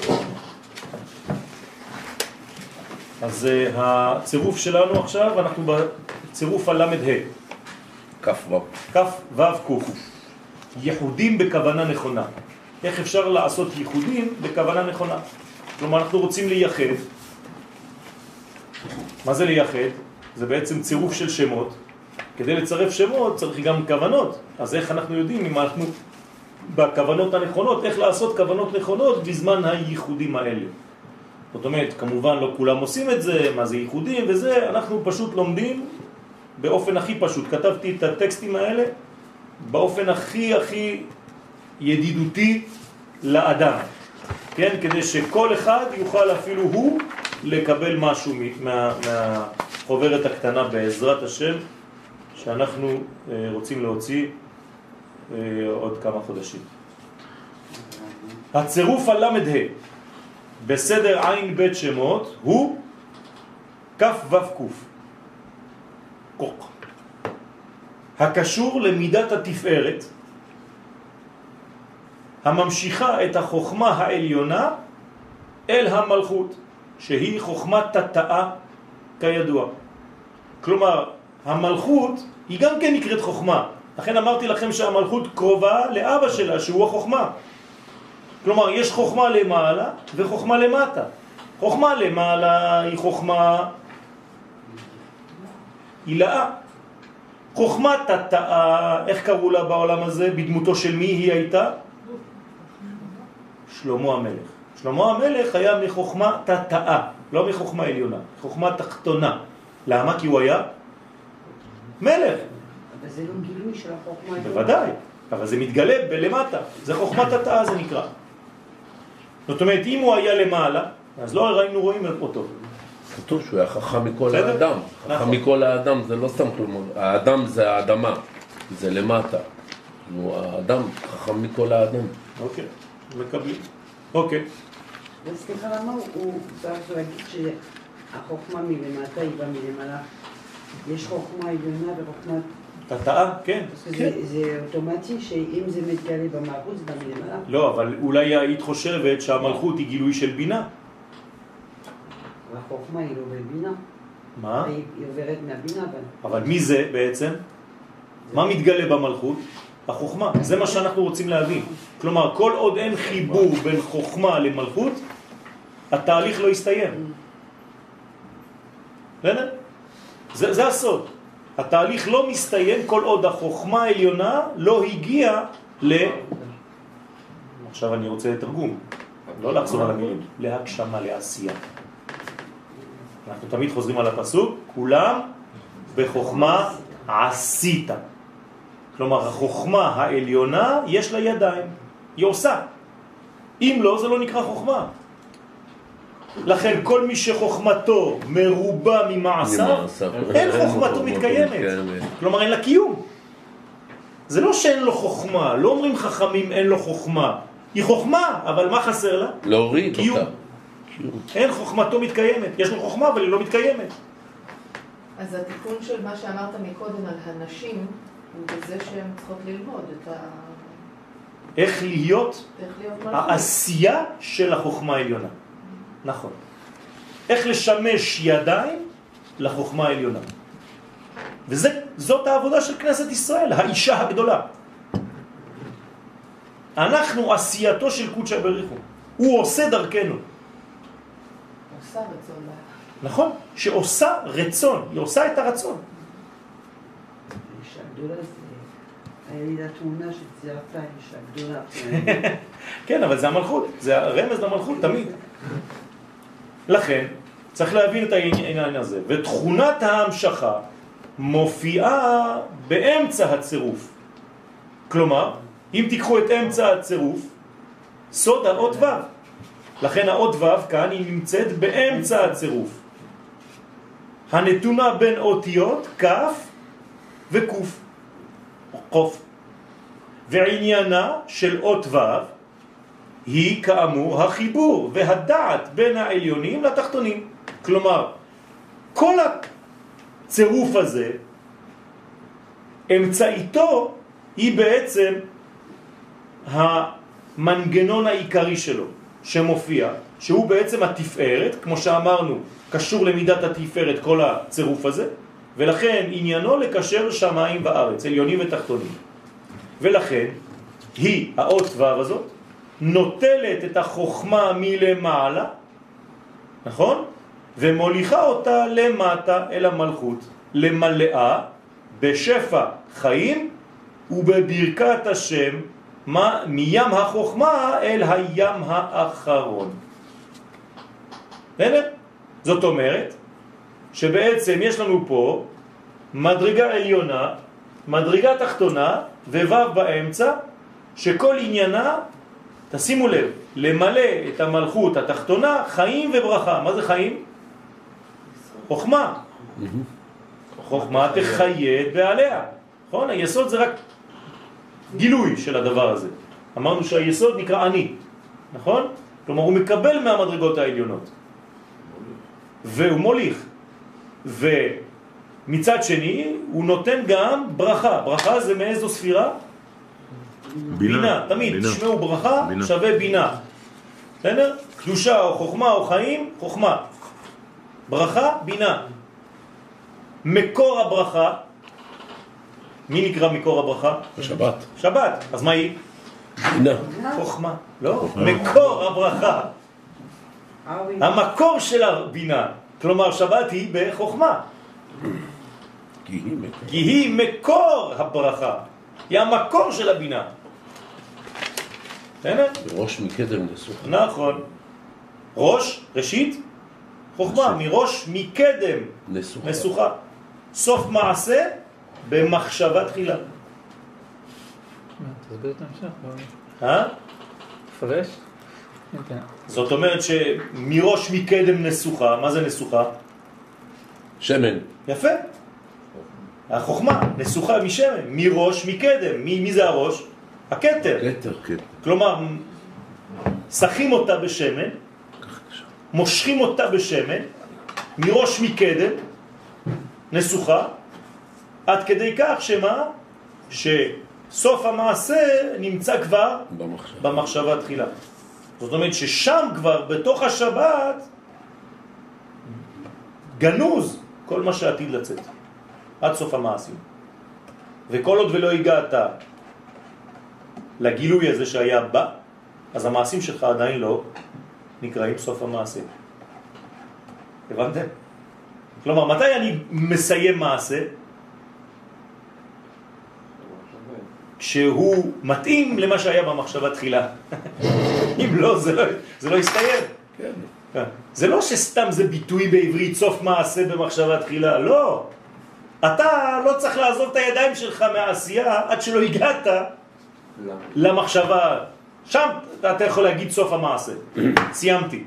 אז הצירוף שלנו עכשיו, אנחנו בצירוף הלמד ה' כף ו' קוף. ייחודים בכוונה נכונה. איך אפשר לעשות ייחודים בכוונה נכונה? כלומר, אנחנו רוצים לייחד. מה זה לייחד? זה בעצם צירוף של שמות. כדי לצרף שמות צריך גם כוונות. אז איך אנחנו יודעים אם אנחנו בכוונות הנכונות, איך לעשות כוונות נכונות בזמן הייחודים האלה? זאת אומרת, כמובן לא כולם עושים את זה, מה זה ייחודים וזה, אנחנו פשוט לומדים באופן הכי פשוט. כתבתי את הטקסטים האלה באופן הכי ידידותי לאדם. כן? כדי שכל אחד יוכל אפילו הוא לקבל משהו מהחוברת הקטנה בעזרת השם שאנחנו רוצים להוציא עוד כמה חודשים. הצירוף הלמד ה' בסדר עין בית שמות הוא כף וף קוף. קוק. הקשור למידת התפארת, הממשיכה את החוכמה העליונה אל המלכות, שהיא חוכמת תתאה כידוע. כלומר, המלכות היא גם כן נקראת חוכמה. לכן אמרתי לכם שהמלכות קרובה לאבא שלה, שהוא החוכמה. כלומר, יש חוכמה למעלה וחוכמה למטה. חוכמה למעלה היא חוכמה הילאה. חוכמת תתאה, איך קראו לה בעולם הזה? בדמותו של מי היא הייתה? שלמה המלך. שלמה המלך היה מחוכמה תתאה, לא מחוכמה עליונה, חוכמה תחתונה. למה? כי הוא היה מלך. אבל זה לא גילוי של החוכמה העליונה. בוודאי, אבל זה מתגלה בלמטה. זה חוכמת תתאה, זה נקרא. זאת אומרת, אם הוא היה למעלה, אז לא היינו רואים אותו. כתוב שהוא היה חכם מכל האדם. חכם מכל האדם זה לא סתם כלומר. האדם זה האדמה, זה למטה. האדם חכם מכל האדם. אוקיי, מקבלים. אוקיי. וסליחה, למה הוא צריך להגיד שהחוכמה מלמטה היא באה מלמעלה? יש חוכמה עליונה וחוכמה... תתאה, כן. זה אוטומטי שאם זה מתגלה במלכות זה בא מלמעלה? לא, אבל אולי היית חושבת שהמלכות היא גילוי של בינה. והחוכמה היא לא בבינה. מה? היא עוברת מהבינה. אבל מי זה בעצם? מה מתגלה במלכות? החוכמה. זה מה שאנחנו רוצים להבין. כלומר, כל עוד אין חיבור בין חוכמה למלכות, התהליך לא יסתיים. זה הסוד. התהליך לא מסתיים כל עוד החוכמה העליונה לא הגיעה עכשיו אני רוצה לתרגום, לא לחזור על המילים, להגשמה, לעשייה. אנחנו תמיד חוזרים על הפסוק, כולם בחוכמה עשית. כלומר, החוכמה העליונה יש לה ידיים, היא עושה. אם לא, זה לא נקרא חוכמה. לכן כל מי שחוכמתו מרובה ממעשיו, אין חוכמתו מתקיימת. כלומר, אין לה קיום. זה לא שאין לו חוכמה, לא אומרים חכמים אין לו חוכמה. היא חוכמה, אבל מה חסר לה? להוריד קיום. אותה. אין חוכמתו מתקיימת. יש לו חוכמה, אבל היא לא מתקיימת. אז התיקון של מה שאמרת מקודם על הנשים, הוא בזה שהן צריכות ללמוד את ה... איך להיות העשייה של החוכמה העליונה. נכון. איך לשמש ידיים לחוכמה העליונה. וזאת העבודה של כנסת ישראל, האישה הגדולה. אנחנו עשייתו של קודשא בריך הוא. הוא עושה דרכנו. עושה רצון. נכון, שעושה רצון, היא עושה את הרצון. האישה הגדולה זה... היה לי לתמונה שציירתה אישה גדולה. כן, אבל זה המלכות, זה הרמז למלכות תמיד. לכן, צריך להבין את העניין הזה. ותכונת ההמשכה מופיעה באמצע הצירוף. כלומר, אם תיקחו את אמצע הצירוף, סוד האות ו'. לכן האות ו' כאן היא נמצאת באמצע הצירוף. הנתונה בין אותיות כף וקוף. קוף. ועניינה של אות ו' היא כאמור החיבור והדעת בין העליונים לתחתונים. כלומר, כל הצירוף הזה, אמצעיתו היא בעצם המנגנון העיקרי שלו שמופיע, שהוא בעצם התפארת, כמו שאמרנו, קשור למידת התפארת כל הצירוף הזה, ולכן עניינו לקשר שמיים וארץ, עליונים ותחתונים. ולכן היא, האות ו' הזאת, נוטלת את החוכמה מלמעלה, נכון? ומוליכה אותה למטה אל המלכות, למלאה בשפע חיים ובברכת השם מים החוכמה אל הים האחרון. הנה, זאת אומרת שבעצם יש לנו פה מדרגה עליונה, מדרגה תחתונה וו' באמצע, שכל עניינה, תשימו לב, למלא את המלכות התחתונה חיים וברכה. מה זה חיים? חוכמה. חוכמה תחיה את בעליה. נכון? היסוד זה רק גילוי של הדבר הזה. אמרנו שהיסוד נקרא אני, נכון? כלומר הוא מקבל מהמדרגות העליונות. והוא מוליך. ומצד שני הוא נותן גם ברכה. ברכה זה מאיזו ספירה? בינה. תמיד תשמעו ברכה שווה בינה. בסדר? קדושה או חוכמה או חיים, חוכמה. ברכה, בינה. מקור הברכה, מי נקרא מקור הברכה? שבת. שבת. אז מה היא? בינה. חוכמה. לא? מקור הברכה. המקור של הבינה. כלומר שבת היא בחוכמה. כי היא מקור הברכה. היא המקור של הבינה. ראש מקדם נסוכה. נכון. ראש, ראשית, חוכמה. מראש מקדם נסוכה. סוף מעשה במחשבה תחילה. תסביר את המשך. תפרש? זאת אומרת שמראש מקדם נסוכה, מה זה נסוכה? שמן. יפה. החוכמה, נסוכה משמן, מראש מקדם. מי זה הראש? הכתר. כלומר, שחים אותה בשמן, מושכים אותה בשמן, מראש מקדם, נסוכה, עד כדי כך שמה? שסוף המעשה נמצא כבר במחשבה תחילה. זאת אומרת ששם כבר בתוך השבת גנוז כל מה שעתיד לצאת עד סוף המעשים. וכל עוד ולא הגעת לגילוי הזה שהיה בא, אז המעשים שלך עדיין לא נקראים סוף המעשה. הבנתם? כלומר, מתי אני מסיים מעשה? כשהוא מתאים למה שהיה במחשבה תחילה. אם לא, זה לא יסתיים. כן. זה לא שסתם זה ביטוי בעברית סוף מעשה במחשבה תחילה, לא. אתה לא צריך לעזוב את הידיים שלך מהעשייה עד שלא הגעת למחשבה. שם אתה יכול להגיד סוף המעשה. סיימתי.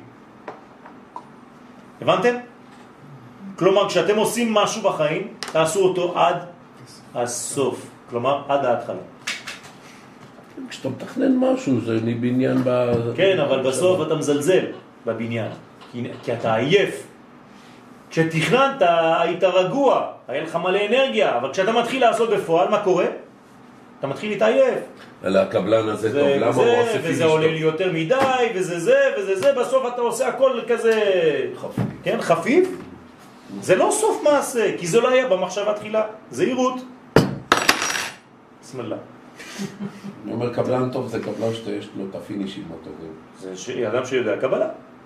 הבנתם? כלומר, כשאתם עושים משהו בחיים, תעשו אותו עד הסוף. כלומר, עד ההתחלה. כשאתה מתכנן משהו, זה בניין כן, אבל בסוף אתה מזלזל בבניין. כי אתה עייף. כשתכננת, היית רגוע, היה לך מלא אנרגיה, אבל כשאתה מתחיל לעשות בפועל, מה קורה? אתה מתחיל להתעייף. על הקבלן הזה טוב, למה הוא עושה פיניש? וזה עולה לי יותר מדי, וזה, בסוף אתה עושה הכל כזה חפיף. כן, חפיף? זה לא סוף מעשה, כי זה לא היה במחשבה תחילה. זהירות. בסמאללה. אני אומר, קבלן טוב זה קבלן שיש לו את הפינישים הטובים. זה אדם שיודע קבלה.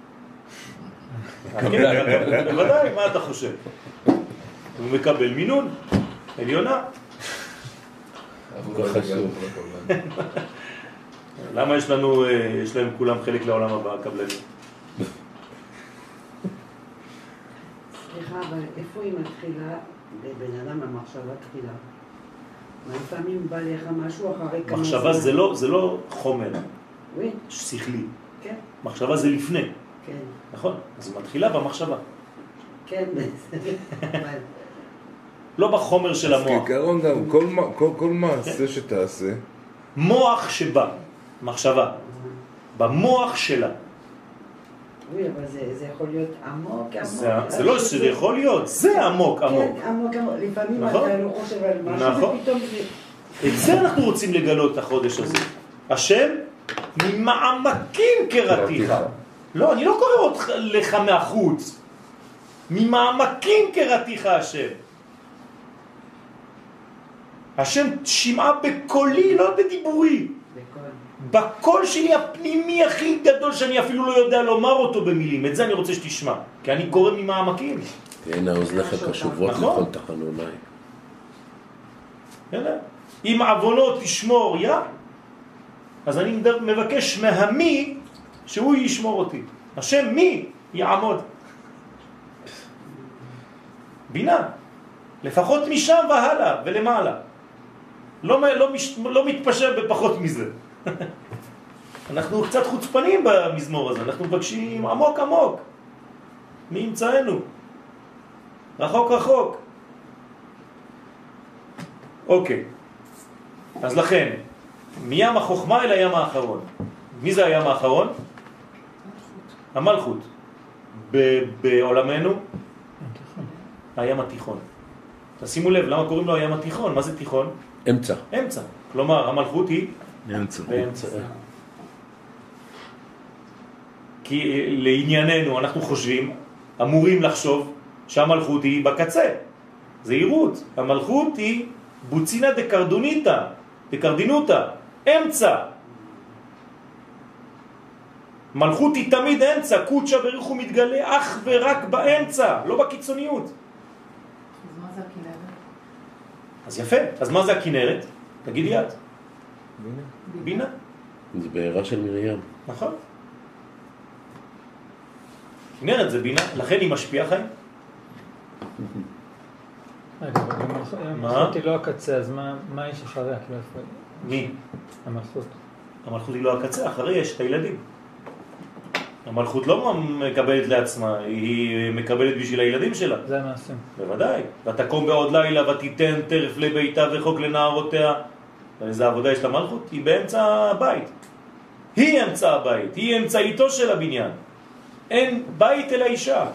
בוודאי, מה אתה חושב? הוא מקבל מינון, עליונה. למה יש להם כולם חלק לעולם הבא, הקבלנים? סליחה, אבל איפה היא מתחילה לבן אדם המחשבה תחילה? לפעמים בא לך משהו אחרי כמה... מחשבה זה לא חומר, שכלי. מחשבה זה לפני. כן. נכון? אז היא מתחילה במחשבה. כן, לא בחומר של המוח. אז כעיקרון גם, כל מעשה שתעשה... מוח שבא, מחשבה. במוח שלה. oui, אבל זה יכול להיות עמוק. זה לא שזה יכול להיות, זה עמוק. כן, עמוק. לפעמים אתה לא חושב על משהו, ופתאום זה... את זה אנחנו רוצים לגלות את החודש הזה. השם ממעמקים קראתיך. לא, אני לא קורא לך מהחוץ. ממעמקים קראתיך השם. השם שמעה בקולי, לא בדיבורי. בקול שלי הפנימי הכי גדול שאני אפילו לא יודע לומר אותו במילים. את זה אני רוצה שתשמע, כי אני קורא ממעמקים. תהיינה אוזניך קשובות לכל תחנוני. אם עוונות תשמור יא, אז אני מבקש מהמי שהוא ישמור אותי. השם מי יעמוד. בינה. לפחות משם והלאה ולמעלה. לא מתפשר בפחות מזה. אנחנו קצת חוצפנים במזמור הזה. אנחנו מבקשים עמוק עמוק. מי ימצאנו? רחוק רחוק. אוקיי. אז לכן, מים החוכמה אל הים האחרון. מי זה הים האחרון? המלכות. בעולמנו, הים התיכון. תשימו לב, למה קוראים לו הים התיכון? מה זה תיכון? אמצע. אמצע. כלומר, המלכות היא באמצע. כי לענייננו אנחנו חושבים, אמורים לחשוב שהמלכות היא בקצה. זהירות. המלכות היא בוצינה דקרדינותה, אמצע. מלכות היא תמיד אמצע, קודשה ברוך הוא מתגלה אך ורק באמצע, לא בקיצוניות. אז מה זה הכנרת? אז יפה, אז מה זה הכנרת? תגידי את. בינה. זה בעירה של מרים. נכון. כנרת זה בינה, לכן היא משפיעה חיים. המלכות היא לא הקצה, אז מה יש אחריה? מי? המלכות. המלכות היא לא הקצה, אחרי יש את הילדים. המלכות לא מקבלת לעצמה, היא מקבלת בשביל הילדים שלה. זה המעשים. בוודאי. ותקום בעוד לילה ותיתן טרף לביתה וחוק לנערותיה. ואיזה עבודה יש למלכות? היא באמצע הבית. היא אמצע הבית, היא אמצעיתו של הבניין. אין בית אלא אישה.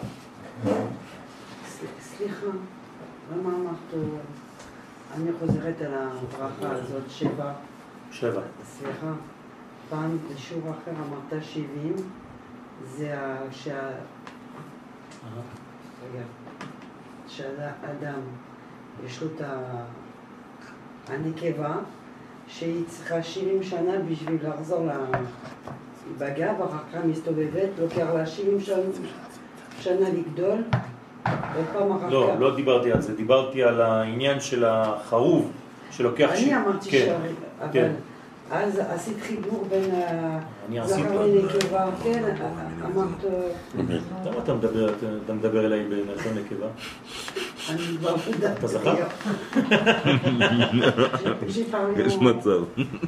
סליחה, למה אמרת, אני חוזרת על הברכה הזאת, 7. סליחה, פעם בשיעור אחר אמרת 70, זה שהאדם יש לו את הנקבה שהיא צריכה 70 שנה בשביל לחזור לבגע, ואחר כך מסתובבת, לוקח לה 70 שנה לגדול, עוד פעם אחר כך. לא דיברתי על זה, דיברתי על העניין של החרוב שלוקח... אני אמרתי אבל אז עשית חיבור בין הזכר לנקבה, כן, אמרת... למה אתה מדבר אליי בלשון נקבה? אני כבר יודעת. אתה זכר? יש מצב.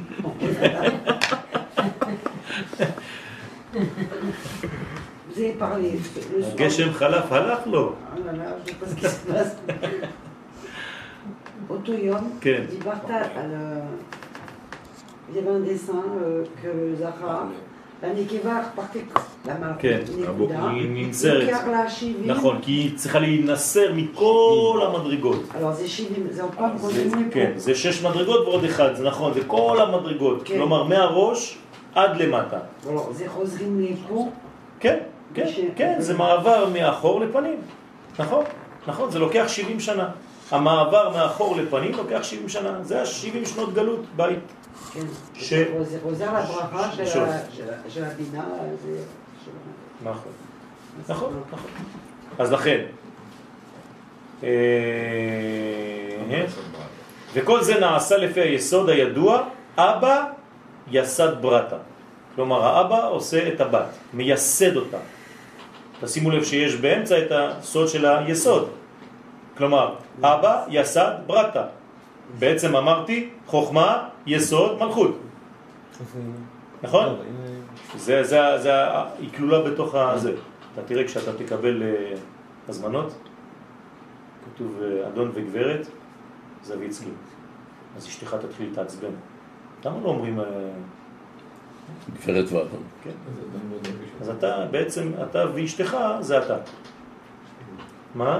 זה פרלי. גשם חלף, הלך לו. אותו יום דיברת על... Il y avait un dessin que le Zahra, la Nekeva repartait la Malchut, היא ננסרת. נכון, כי היא צריכה להינסר מכל המדרגות. זה 70, זה עוד פעם חוזרים מפה. כן, זה 6 מדרגות ועוד 1, זה נכון, זה כל המדרגות. כלומר, מהראש עד למטה. זה חוזרים מפה? כן, כן, זה מעבר מאחור לפנים. נכון, זה לוקח 70 שנה. המעבר מאחור לפנים לוקח 70 שנה. זה 70 שנות גלות בית. זה חוזר לברכה של הבינה. נכון. אז לכן, וכל זה נעשה לפי היסוד הידוע, אבא יסד ברטה. כלומר, האבא עושה את הבת, מייסד אותה. תשימו לב שיש באמצע את הסוד של היסוד. כלומר, אבא יסד ברטה. בעצם אמרתי, חוכמה, יסוד, מלכות. נכון? היא כלולה בתוך הזה. אתה תראה כשאתה תקבל הזמנות, כתוב אדון וגברת, זוויצקי. אז אשתך תתחיל להתעצבן. למה לא אומרים... גברת ואדון. כן. אז אתה בעצם, אתה ואשתך זה אתה. מה?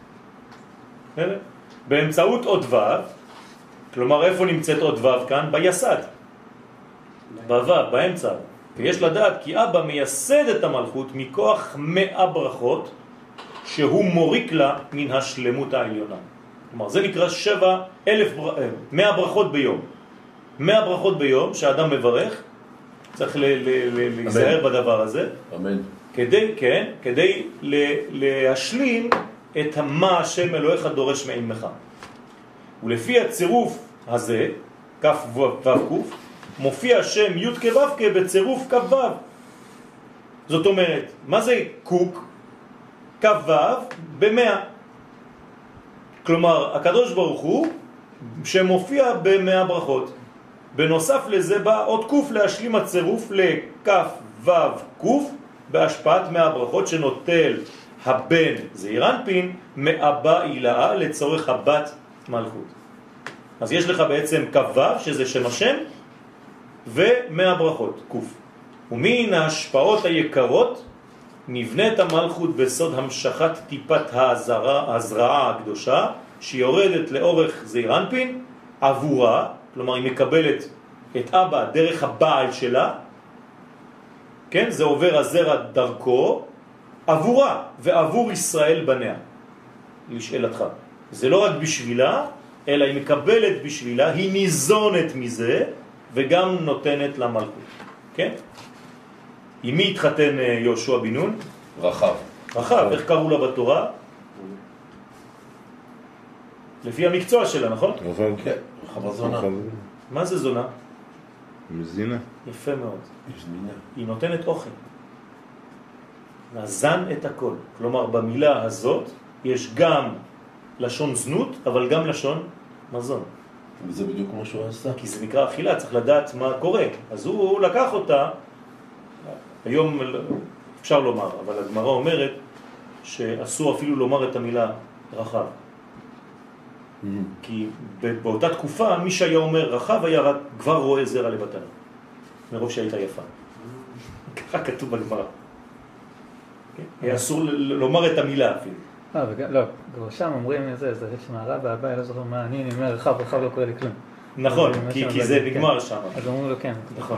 באמצעות עוד ו', כלומר איפה נמצאת עוד ו' כאן? ביסד. בו', באמצע. ויש לדעת כי אבא מייסד את המלכות מכוח 100 ברכות שהוא מוריק לה מן השלמות העליונה. כלומר זה נקרא 100 ברכות ביום. 100 ברכות ביום שהאדם מברך, צריך להיזהר בדבר הזה. אמן. כדי להשלים את מה השם אלוהיך דורש מעמך. ולפי הצירוף הזה, כף וו קוף, מופיע השם י' כו' בצירוף כ' ו'. זאת אומרת, מה זה קוק? כ' ו' ב100. כלומר, הקדוש ברוך הוא שמופיע ב100 ברכות. בנוסף לזה בא עוד קוף להשלים הצירוף לכף ו' קוף בהשפעת 100 ברכות שנוטל הבן זעיר אנפין מאבא אילאה לצורך הבת מלכות. אז יש לך בעצם כ' ו' שזה שם השם ו100 ברכות, קוף. ומן ההשפעות היקרות נבנית המלכות בסוד המשכת טיפת ההזרעה הקדושה, שיורדת לאורך זעיר אנפין עבורה, כלומר היא מקבלת את אבא דרך הבעל שלה, כן? זה עובר הזרע דרכו, עבורה ועבור ישראל בניה. לשאלתך, זה לא רק בשבילה, אלא היא מקבלת בשבילה, היא ניזונת מזה, וגם נותנת למלכות. כן? עם מי התחתן יהושע בן נון? רחב. רחב, איך קראו לה בתורה? לפי המקצוע שלה, נכון? רחב, כן. רחב הזונה. מה זה זונה? מזינה. יפה מאוד. יש זמינה. היא נותנת אוכל. נזן את הכל. כלומר, במילה הזאת יש גם לשון זנות, אבל גם לשון מזון. וזה בדיוק כמו שהוא עשה. כי זה נקרא אכילה, צריך לדעת מה קורה. אז הוא לקח אותה, היום אפשר לומר, אבל הגמרא אומרת שאסור אפילו לומר את המילה רחב. כי באותה תקופה מי שהיה אומר רחב היה רק כבר רואה זרע לבטנה, מרוב שהייתה יפה. ככה כתוב בגמרא. היה אסור לומר את המילה אפילו. לא, כבר שם אומרים איזה, זה שמערב והבא, לא זוכר מה, אני אומר רחב לא קורה לי כלום. נכון, כי זה נגמר שם. אז אומרים לו כן. נכון.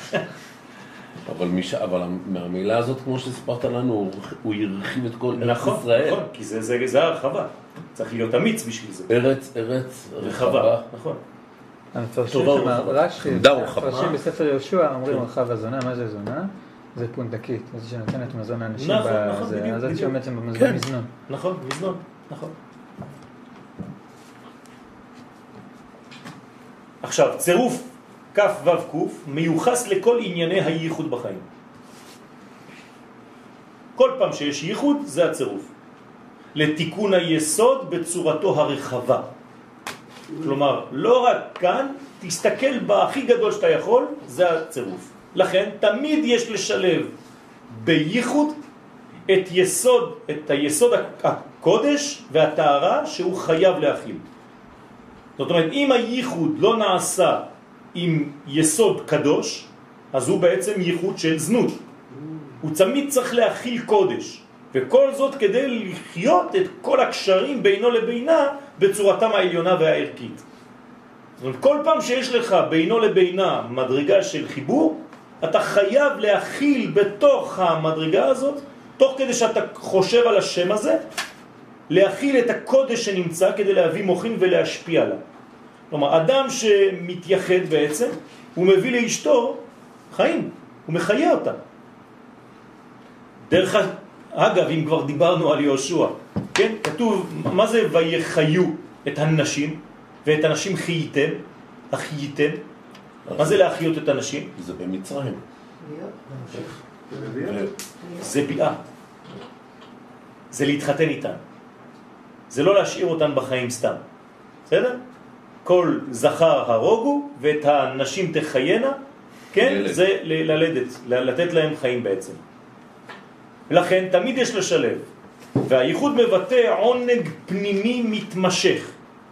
אבל מהמילה הזאת, כמו שספרת לנו, הוא ירחיב את כל ארץ ישראל. נכון, כי זה הרחבה. צריך להיות אמיץ בשביל זה. ארץ רחבה. נכון. המפרשים שם, בספר יהושע אומרים רחב הזונה, מה זה זונה? זה פונדקית, זה שנותנת מזון לאנשים בזה, אז זה שעומד שם במזנון. נכון, מזנון, נכון. עכשיו, צירוף כף וו קוף מיוחס לכל ענייני הייחוד בחיים. כל פעם שיש ייחוד זה הצירוף. לתיקון היסוד בצורתו הרחבה. כלומר, לא רק כאן, תסתכל בהכי גדול שאתה יכול, זה הצירוף. לכן תמיד יש לשלב בייחוד את היסוד הקודש והטהרה שהוא חייב להכיל. זאת אומרת, אם הייחוד לא נעשה עם יסוד קדוש, אז הוא בעצם ייחוד של זנות. הוא תמיד צריך להכיל קודש, וכל זאת כדי לחיות את כל הקשרים בינו לבינה בצורתם העליונה והערכית. זאת אומרת, כל פעם שיש לך בינו לבינה מדרגה של חיבור, אתה חייב להכיל בתוך המדרגה הזאת, תוך כדי שאתה חושב על השם הזה, להכיל את הקודש שנמצא כדי להביא מוחין ולהשפיע עליו. כלומר, אדם שמתייחד בעצם, הוא מביא לאשתו חיים, הוא מחיה אותה. דרך אגב, אם כבר דיברנו על יהושע, כן? כתוב, מה זה ויחיו את הנשים, ואת הנשים חייתם, החייתם? מה זה להחיות את הנשים? זה במצרים. זה ביאה. זה להתחתן איתן. זה לא להשאיר אותן בחיים סתם. בסדר? כל זכר הרוגו ואת הנשים תחיינה, כן? זה ללדת, לתת להם חיים בעצם. לכן תמיד יש לשלב. והייחוד מבטא עונג פנימי מתמשך.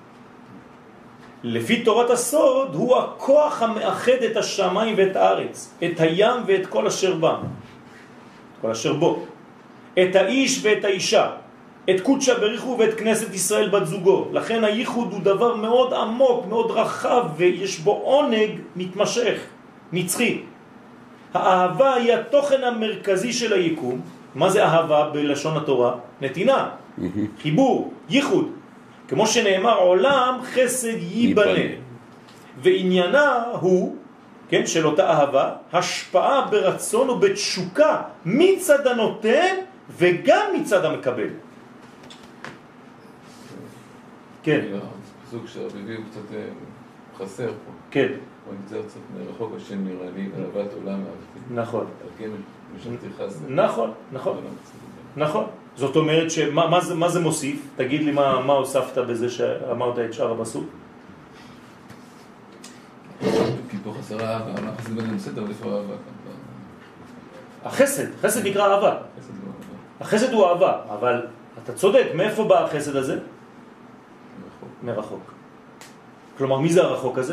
לפי תורת הסוד הוא הכוח המאחד את השמיים ואת הארץ, את הים ואת כל אשר בם, כל אשר בו, את האיש ואת האישה, את קודשה בריחו ואת כנסת ישראל בת זוגו. לכן הייחוד הוא דבר מאוד עמוק, מאוד רחב, ויש בו עונג מתמשך, נצחי. האהבה היא התוכן המרכזי של היקום. מה זה אהבה בלשון התורה? נתינה, חיבור, ייחוד. כמו שנאמר, עולם חסד ייבנה. ועניינה הוא, כן, של אותה אהבה, השפעה ברצון ובתשוקה מצד הנותן וגם מצד המקבל. כן. סוג שהרביבי הוא קצת חסר פה. כן. הוא נמצא קצת מרחוק, השם נראה לי, אהבת עולם אהבתי. נכון. על כן משלתי חסר. נכון, נכון. נכון. זאת אומרת מה זה מוסיף? תגיד לי מה הוספת בזה שאמרת את שאר הבסוק? כי פה חסר אהבה, אנחנו חסד בן בסדר, אבל איפה אהבה? החסד נקרא אהבה. החסד הוא אהבה, אבל אתה צודק, מאיפה בא החסד הזה? מרחוק. כלומר, מי זה הרחוק הזה?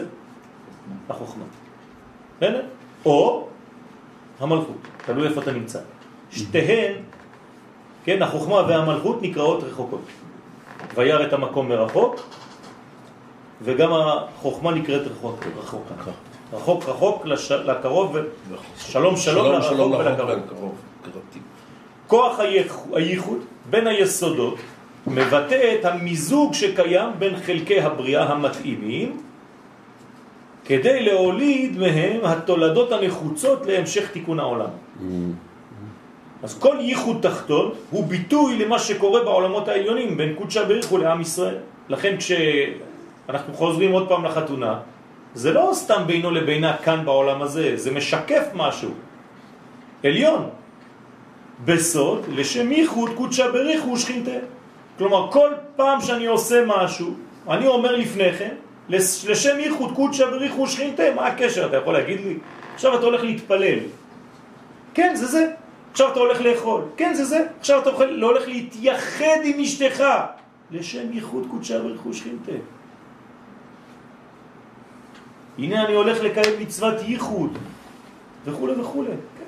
החוכמה. או המלכות, תלוי איפה אתה נמצא. שתיהן, כן, החוכמה והמלכות נקראות רחוקות. וירא את המקום מרחוק, וגם החוכמה נקראת רחוק. רחוק לקרוב, שלום לרחוק ולקרוב. כוח הייחוד בין היסודות מבטא את המיזוג שקיים בין חלקי הבריאה המתאימים כדי להוליד מהם התולדות הנחוצות להמשך תיקון העולם. אז כל ייחוד תחתון הוא ביטוי למה שקורה בעולמות העליונים בין קודשא בריך הוא לעם ישראל. לכן כשאנחנו חוזרים עוד פעם לחתונה, זה לא סתם בינו לבינה כאן בעולם הזה, זה משקף משהו עליון בסוד לשם ייחוד קודשא בריך הוא שכינתה. כלומר כל פעם שאני עושה משהו אני אומר לפני כן לשם ייחוד קודשא בריך הוא שכינתה. מה הקשר? אתה יכול להגיד לי? עכשיו אתה הולך להתפלל, כן זה זה. עכשיו אתה הולך לאכול, כן זה זה. עכשיו אתה לא הולך להתייחד עם אשתך לשם ייחוד קודשא בריך הוא שכינתה. הנה אני הולך לקיים מצוות ייחוד וכו' וכו'.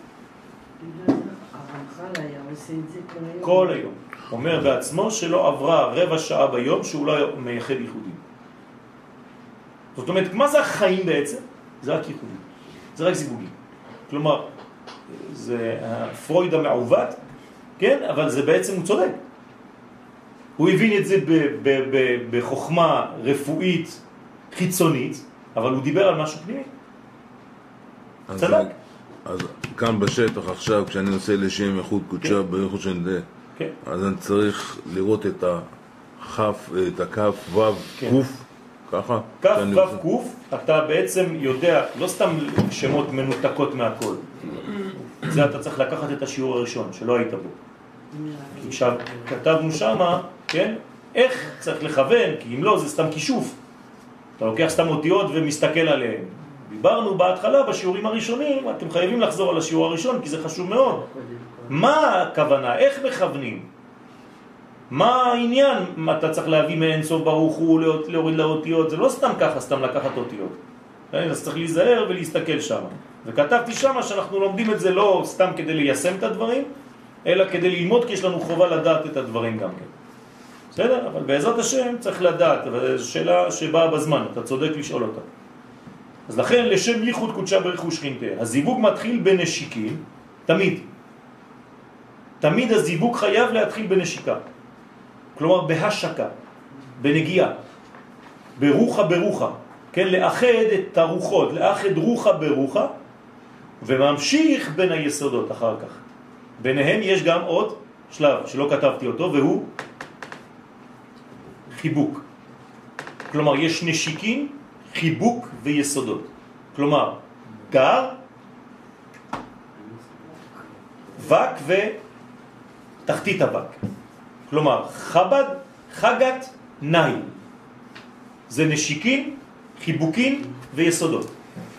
הרמח"ל היה עושה את זה כל היום. כל היום. אומר בעצמו שלא עברה רבע שעה ביום שהוא לא מייחד ייחודים. זאת אומרת, מה זה החיים בעצם? זה רק ייחודים. זה רק זיווגים. כלומר, זה פרויד המעוות, כן? אבל זה בעצם הוא צודק. הוא הבין את זה בחוכמה רפואית חיצונית, אבל הוא דיבר על משהו פנימי. צדק. אז כאן בשטח עכשיו, כשאני עושה לשם ייחוד קודשא בריך הוא שכינתה, אז אני צריך לראות את הכף, את הכף וו קוף, ככה? כף וו קוף, אתה בעצם יודע, לא סתם שמות מנותקות מהכל. זה אתה צריך לקחת את השיעור הראשון, שלא היית בו. עכשיו, כתבנו שמה, כן? איך צריך לכוון, כי אם לא, זה סתם כישוף. אתה לוקח סתם אותיות ומסתכל עליהן. דיברנו בהתחלה, בשיעורים הראשונים, אתם חייבים לחזור על השיעור הראשון, כי זה חשוב מאוד. מה הכוונה? איך מכוונים? מה העניין? מה אתה צריך להביא מאין סוף ברוך הוא, להוריד לאותיות? זה לא סתם ככה, סתם לקחת אותיות. אז צריך להיזהר ולהסתכל שם. וכתבתי שם שאנחנו לומדים את זה לא סתם כדי ליישם את הדברים, אלא כדי ללמוד, כי יש לנו חובה לדעת את הדברים גם כן. בסדר? אבל בעזרת השם צריך לדעת, וזו שאלה שבאה בזמן, אתה צודק לשאול אותה. אז לכן לשם ייחוד קודשא בריך הוא שכינתה. הזיווג מתחיל בנשיקים, תמיד הזיווג חייב להתחיל בנשיקה. כלומר בהשקה, בנגיעה, ברוחה, כן, לאחד את הרוחות, לאחד רוחה ברוחה, וממשיך בין היסודות אחר כך. ביניהם יש גם עוד שלב שלא כתבתי אותו, והוא חיבוק. כלומר יש נשיקים, חיבוק ויסודות. כלומר גר, וק ותחתית הווק. כלומר חבד, חגת, נאי. זה נשיקים, חיבוקים ויסודות.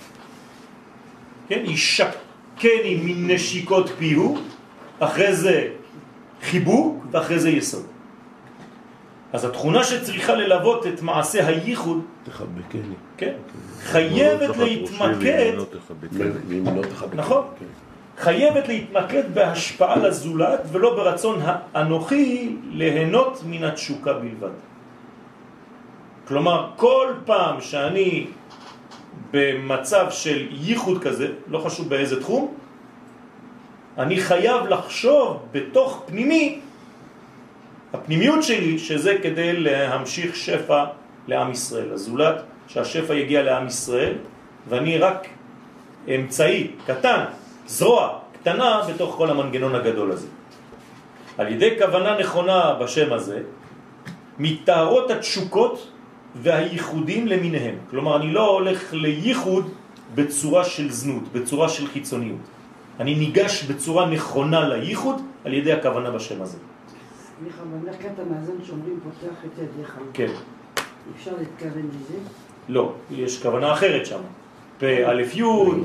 כן, ישקני מן נשיקות פיהו, אחרי זה חיבוק ואחרי זה יסוד. אז התכונה שצריכה ללוות את מעשה הייחוד, תחבקני. כן, חייבת להתמקד, נכון, חייבת להתמקד בהשפעה לזולת ולא ברצון האנוכי ליהנות מן התשוקה בלבד. כלומר, כל פעם שאני במצב של ייחוד כזה, לא חשוב באיזה תחום, אני חייב לחשוב בתוך פנימי, הפנימיות שלי, שזה כדי להמשיך שפע לעם ישראל, הזולת, שהשפע יגיע לעם ישראל, ואני רק אמצעי קטן, זרוע קטנה בתוך כל המנגנון הגדול הזה. על ידי כוונה נכונה בשם הזה, מתארות התשוקות והייחודים למיניהם. כלומר, אני לא הולך לייחוד בצורה של זנות, בצורה של חיצוניות. אני ניגש בצורה נכונה לייחוד על ידי הכוונה בשם הזה. סליחה, במרכת המאזן שאומרים פותח את ידיך. כן. אפשר להתכוון לזה? לא, יש כוונה אחרת שם. פה א' י',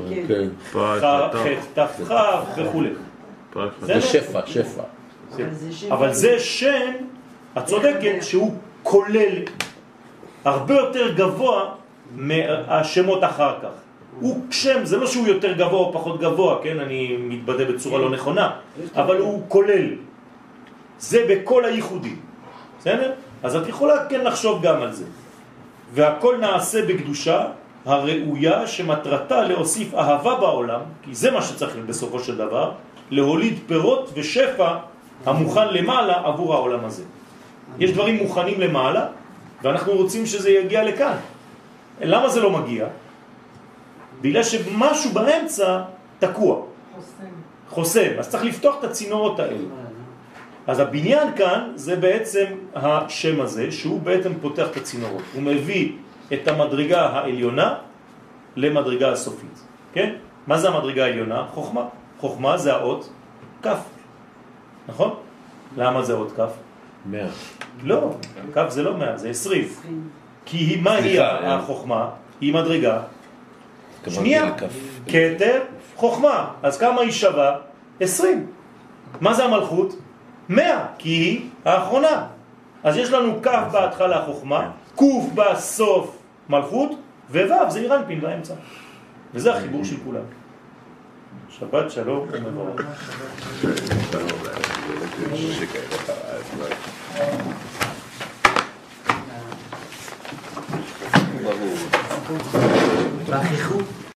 ח' ת' כ' וכו'. זה שפע. אבל זה שם, את צודקת, שהוא כולל הרבה יותר גבוה מהשמות אחר כך. הוא שם, זה לא שהוא יותר גבוה או פחות גבוה, כן? אני מתבטא בצורה לא נכונה, אבל הוא כולל. זה בכל הייחודים. בסדר? אז את יכולה כן לחשוב גם על זה. והכל נעשה בקדושה הראויה שמטרתה להוסיף אהבה בעולם, כי זה מה שצריך בסופו של דבר, להוליד פירות ושפע המוכן למעלה עבור העולם הזה. יש דברים מוכנים למעלה, ואנחנו רוצים שזה יגיע לכאן. למה זה לא מגיע? בגלל שמשהו באמצע תקוע. חוסם. אז צריך לפתוח את הצינורות האלה. אז הבניין כאן זה בעצם השם הזה, שהוא בעצם פותח את הצינורות. הוא מביא את המדרגה העליונה למדרגה הסופית. כן? מה זה המדרגה העליונה? חוכמה. חוכמה זה האות כף. נכון? למה זה האות כף? 100. לא, כף זה לא 100, זה 20. כי מה היא החוכמה? היא מדרגה. שנייה, כתר, חוכמה. אז כמה היא שווה? 20. מה זה המלכות? 100, כי היא האחרונה. אז יש לנו כף בהתחלה חוכמה, קוף בסוף מלכות, ווו זה אירנפין באמצע. וזה החיבור של כולם. שבת שלום ומבורך. ברור.